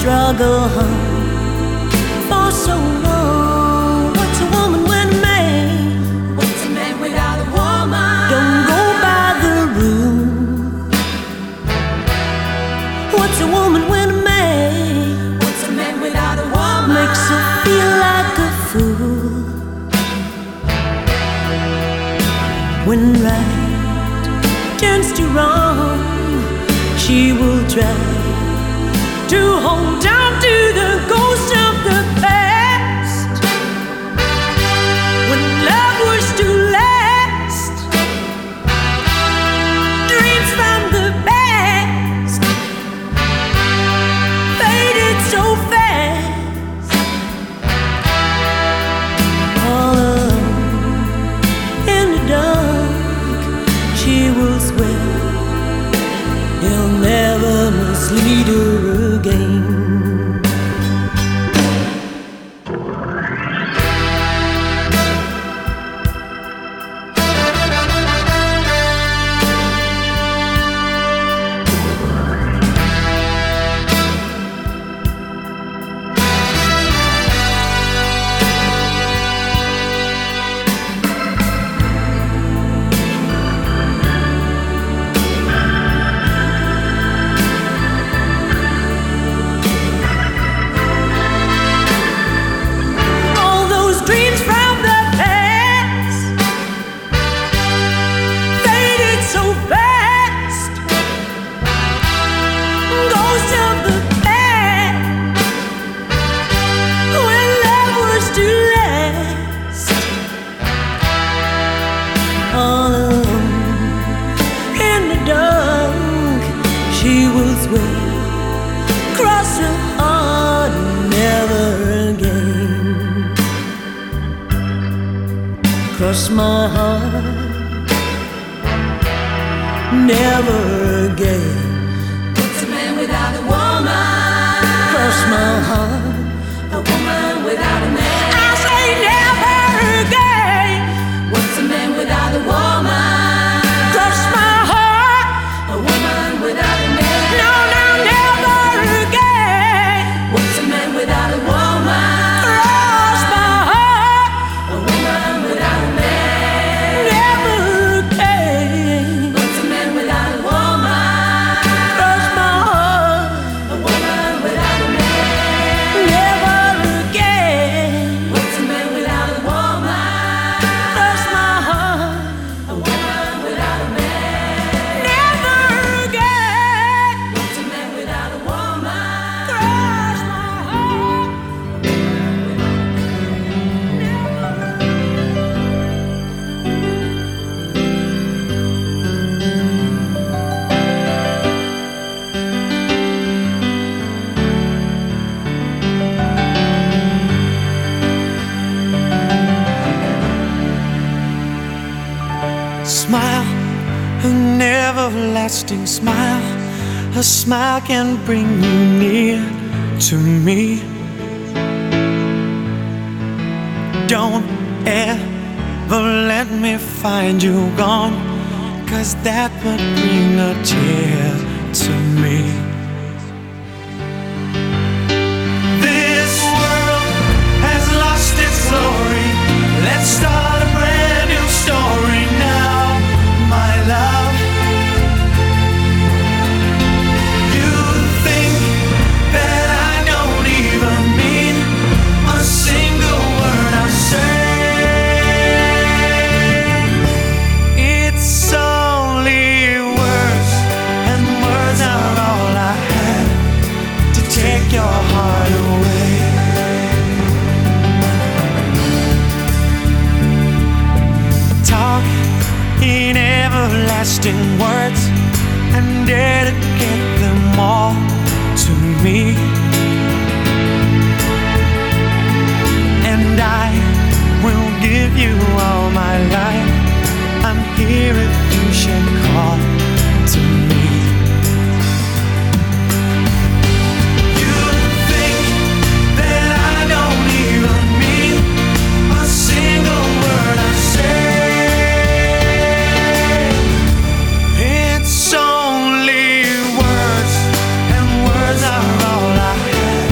struggle for so long. What's a woman when a man? What's a man without a woman? Don't go by the rule. What's a woman when a man? What's a man without a woman? Makes her feel like a fool. When right turns to wrong, she will try to hold on to the ghost of the past. When love was to last, dreams from the past faded so fast. All alone in the dark, she will swear he'll never mislead her again. Cross my heart, never again. What's a man without a woman? Cross my heart, a woman without a man. I say never again. What's a man without a woman? Cross my heart, a woman without a man. No, no, never again. What's a man without a woman? Cross my heart, a woman without a man. Smile, an everlasting smile. A smile can bring you near to me. Don't ever let me find you gone, 'cause that would bring a tear to me. This world has lost its glory. Let's start a brand new story now, my love. You think that I don't even mean a single word I say. It's only words, and words are all I have to take your heart away. Talk in everlasting words and dedicate them all to me. And I will give you all my life. I'm here if you should call to me. You think that I don't even mean a single word I say. It's only words, and words are all I have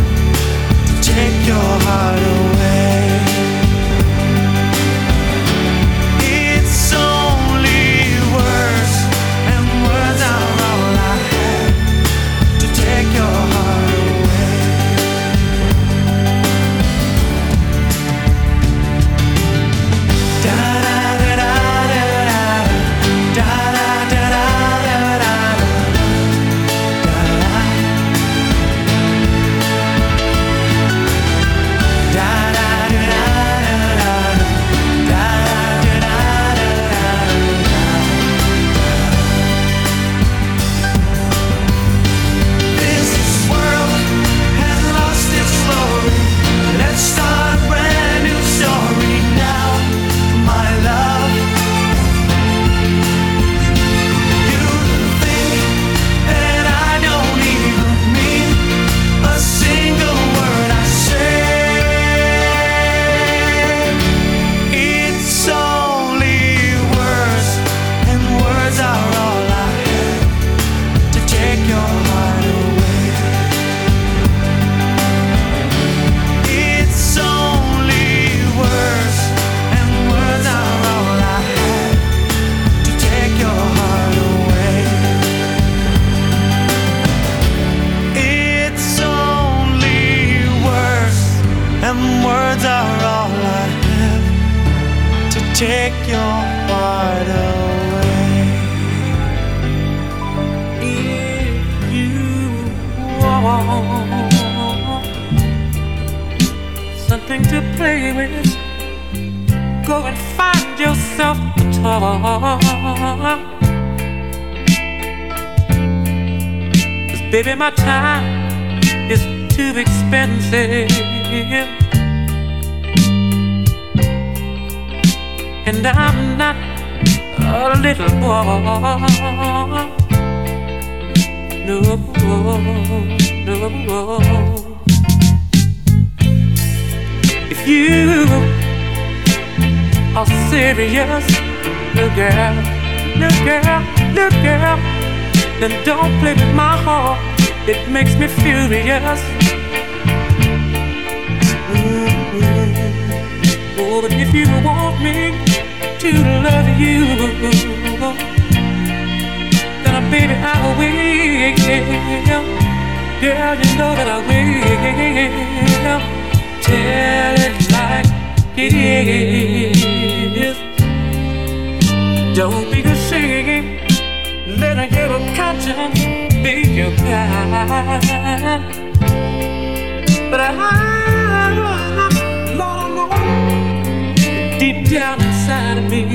take your heart away. If you want something to play with, go and find yourself a toy. 'Cause baby, my time is too expensive, and I'm not a little boy. No, no. If you are serious, little girl, little girl, little girl, then don't play with my heart. It makes me furious. Oh, but if you want me to love you, then baby, I will. Girl, you know that I will. Tell it like it is. Don't be ashamed. Let your conscience be your guide. But Lord, deep down inside of me,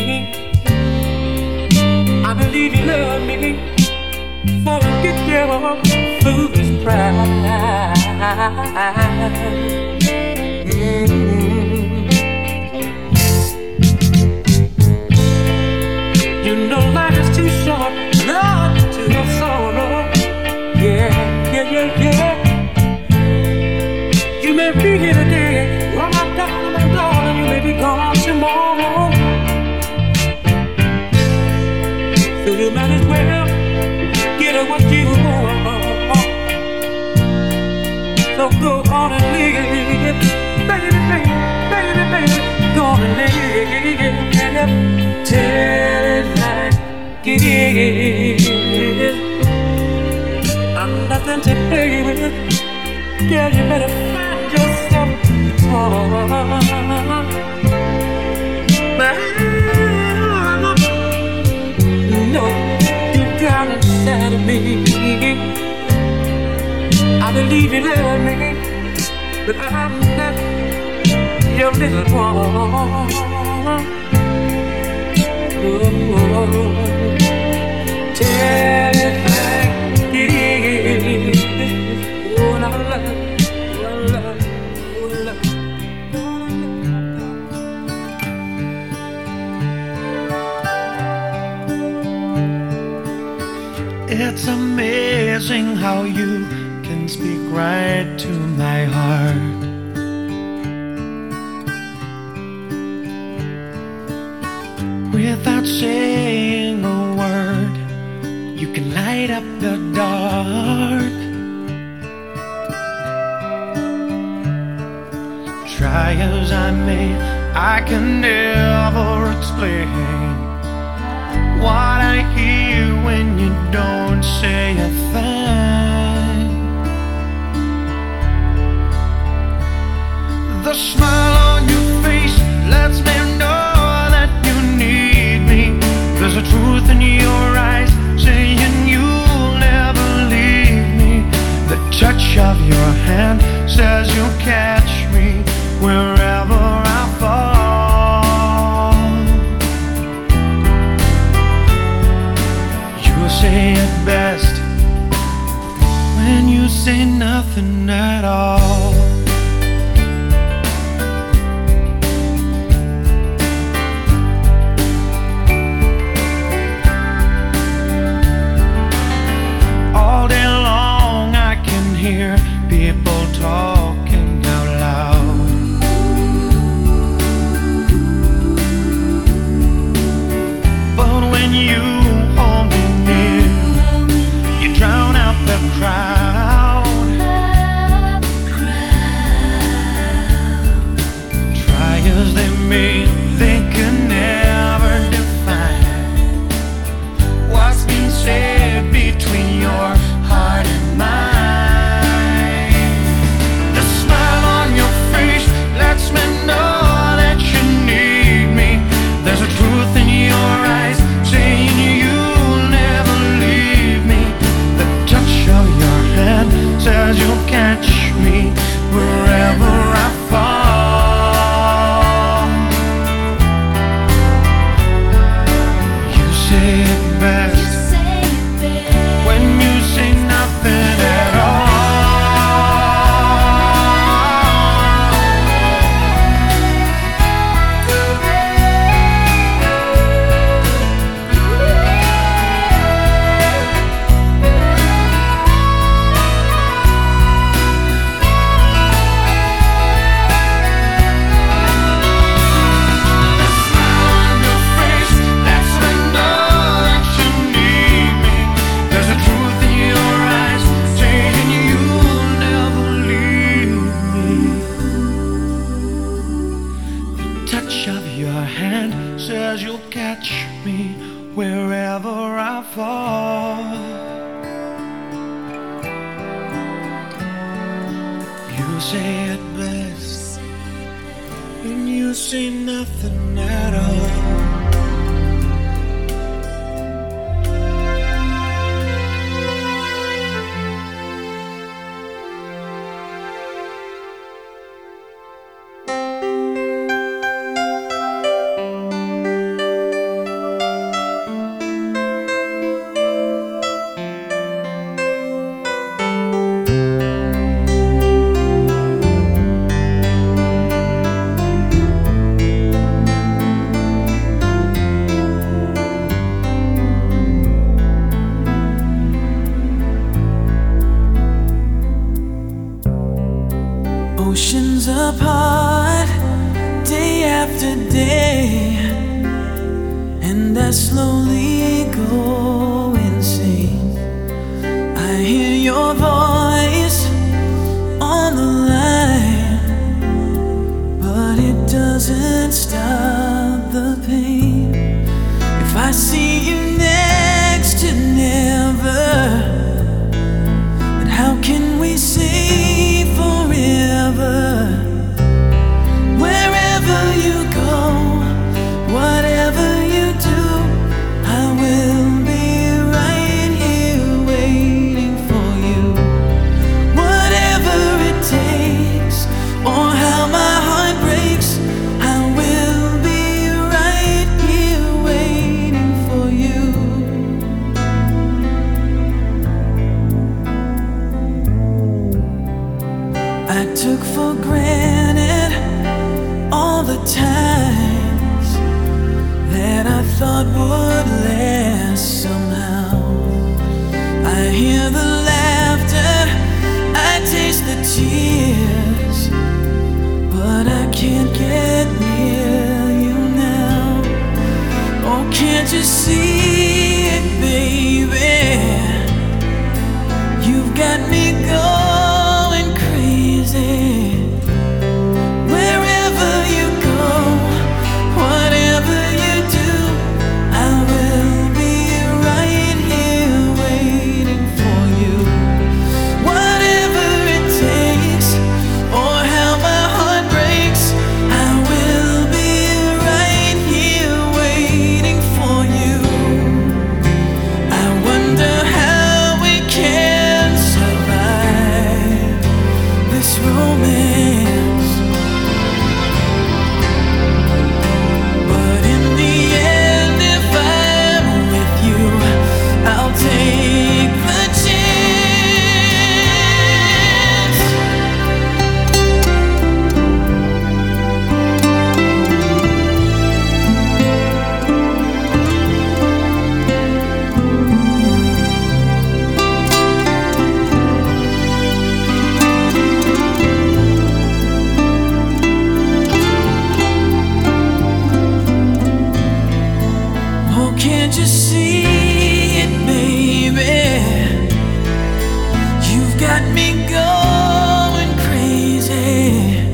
I believe you love me. Forget your foolish pride. You know life is too short, not to have sorrow. Yeah, yeah, yeah, yeah. You may be here today, oh my darling, you may be gone tomorrow. So you might as well get what you want. So go on and live, baby, baby, baby, baby. Go on and live. Tell it like it is. I'm nothing to play with. Girl, you better find yourself a but no, you got inside of me. I believe you love me, but I'm not your little boy. Tell it like it is. Oh, la, la, la, la, la. It's amazing how you can speak right to my heart. Without saying a word, you can light up the dark. Try as I may, I can never explain what I hear when you don't say a thing. The smile on your face lets me know that you need me. There's a truth in your eyes saying you'll never leave me. The touch of your hand says you'll catch me wherever I fall. You say it best when you say nothing at all. All day long I can hear people talking out loud. But when you hold me near, you drown out the crowd. touch of your hand says you'll catch me wherever I fall. You say it best when you say nothing at all. Oceans apart, day after day, and I slowly go insane. I hear your voice on the line, but it doesn't stop the pain. If I see you next to never, then how can we say forever? Wherever you go, whatever you do, I will be right here waiting for you. Whatever it takes, or how my heart breaks, I will be right here waiting for you. I took for granted all the times that I thought would last somehow. I hear the laughter, I taste the tears, but I can't get near you now. Oh, can't you see it, baby? You've got me going crazy. Wherever you go, whatever you do, I will be right here waiting for you. Whatever it takes, or how my heart breaks, I will be right here waiting for you. I wonder how we can survive this romance, but in the end, if I'm with you, I'll take the chance. Oh, can't you see it, baby? You've got me going crazy.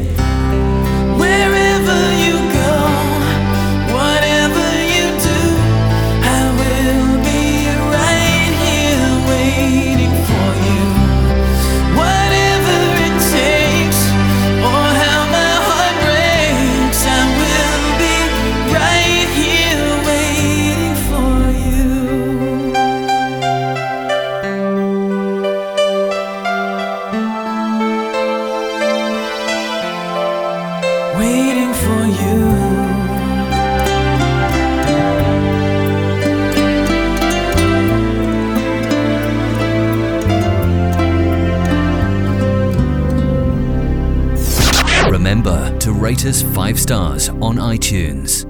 Wherever you go, whatever you do, I will be right here waiting for you. Whatever it takes, or how my heart breaks, I will be right here waiting for you. Waiting for you. Remember to rate us 5 stars on iTunes.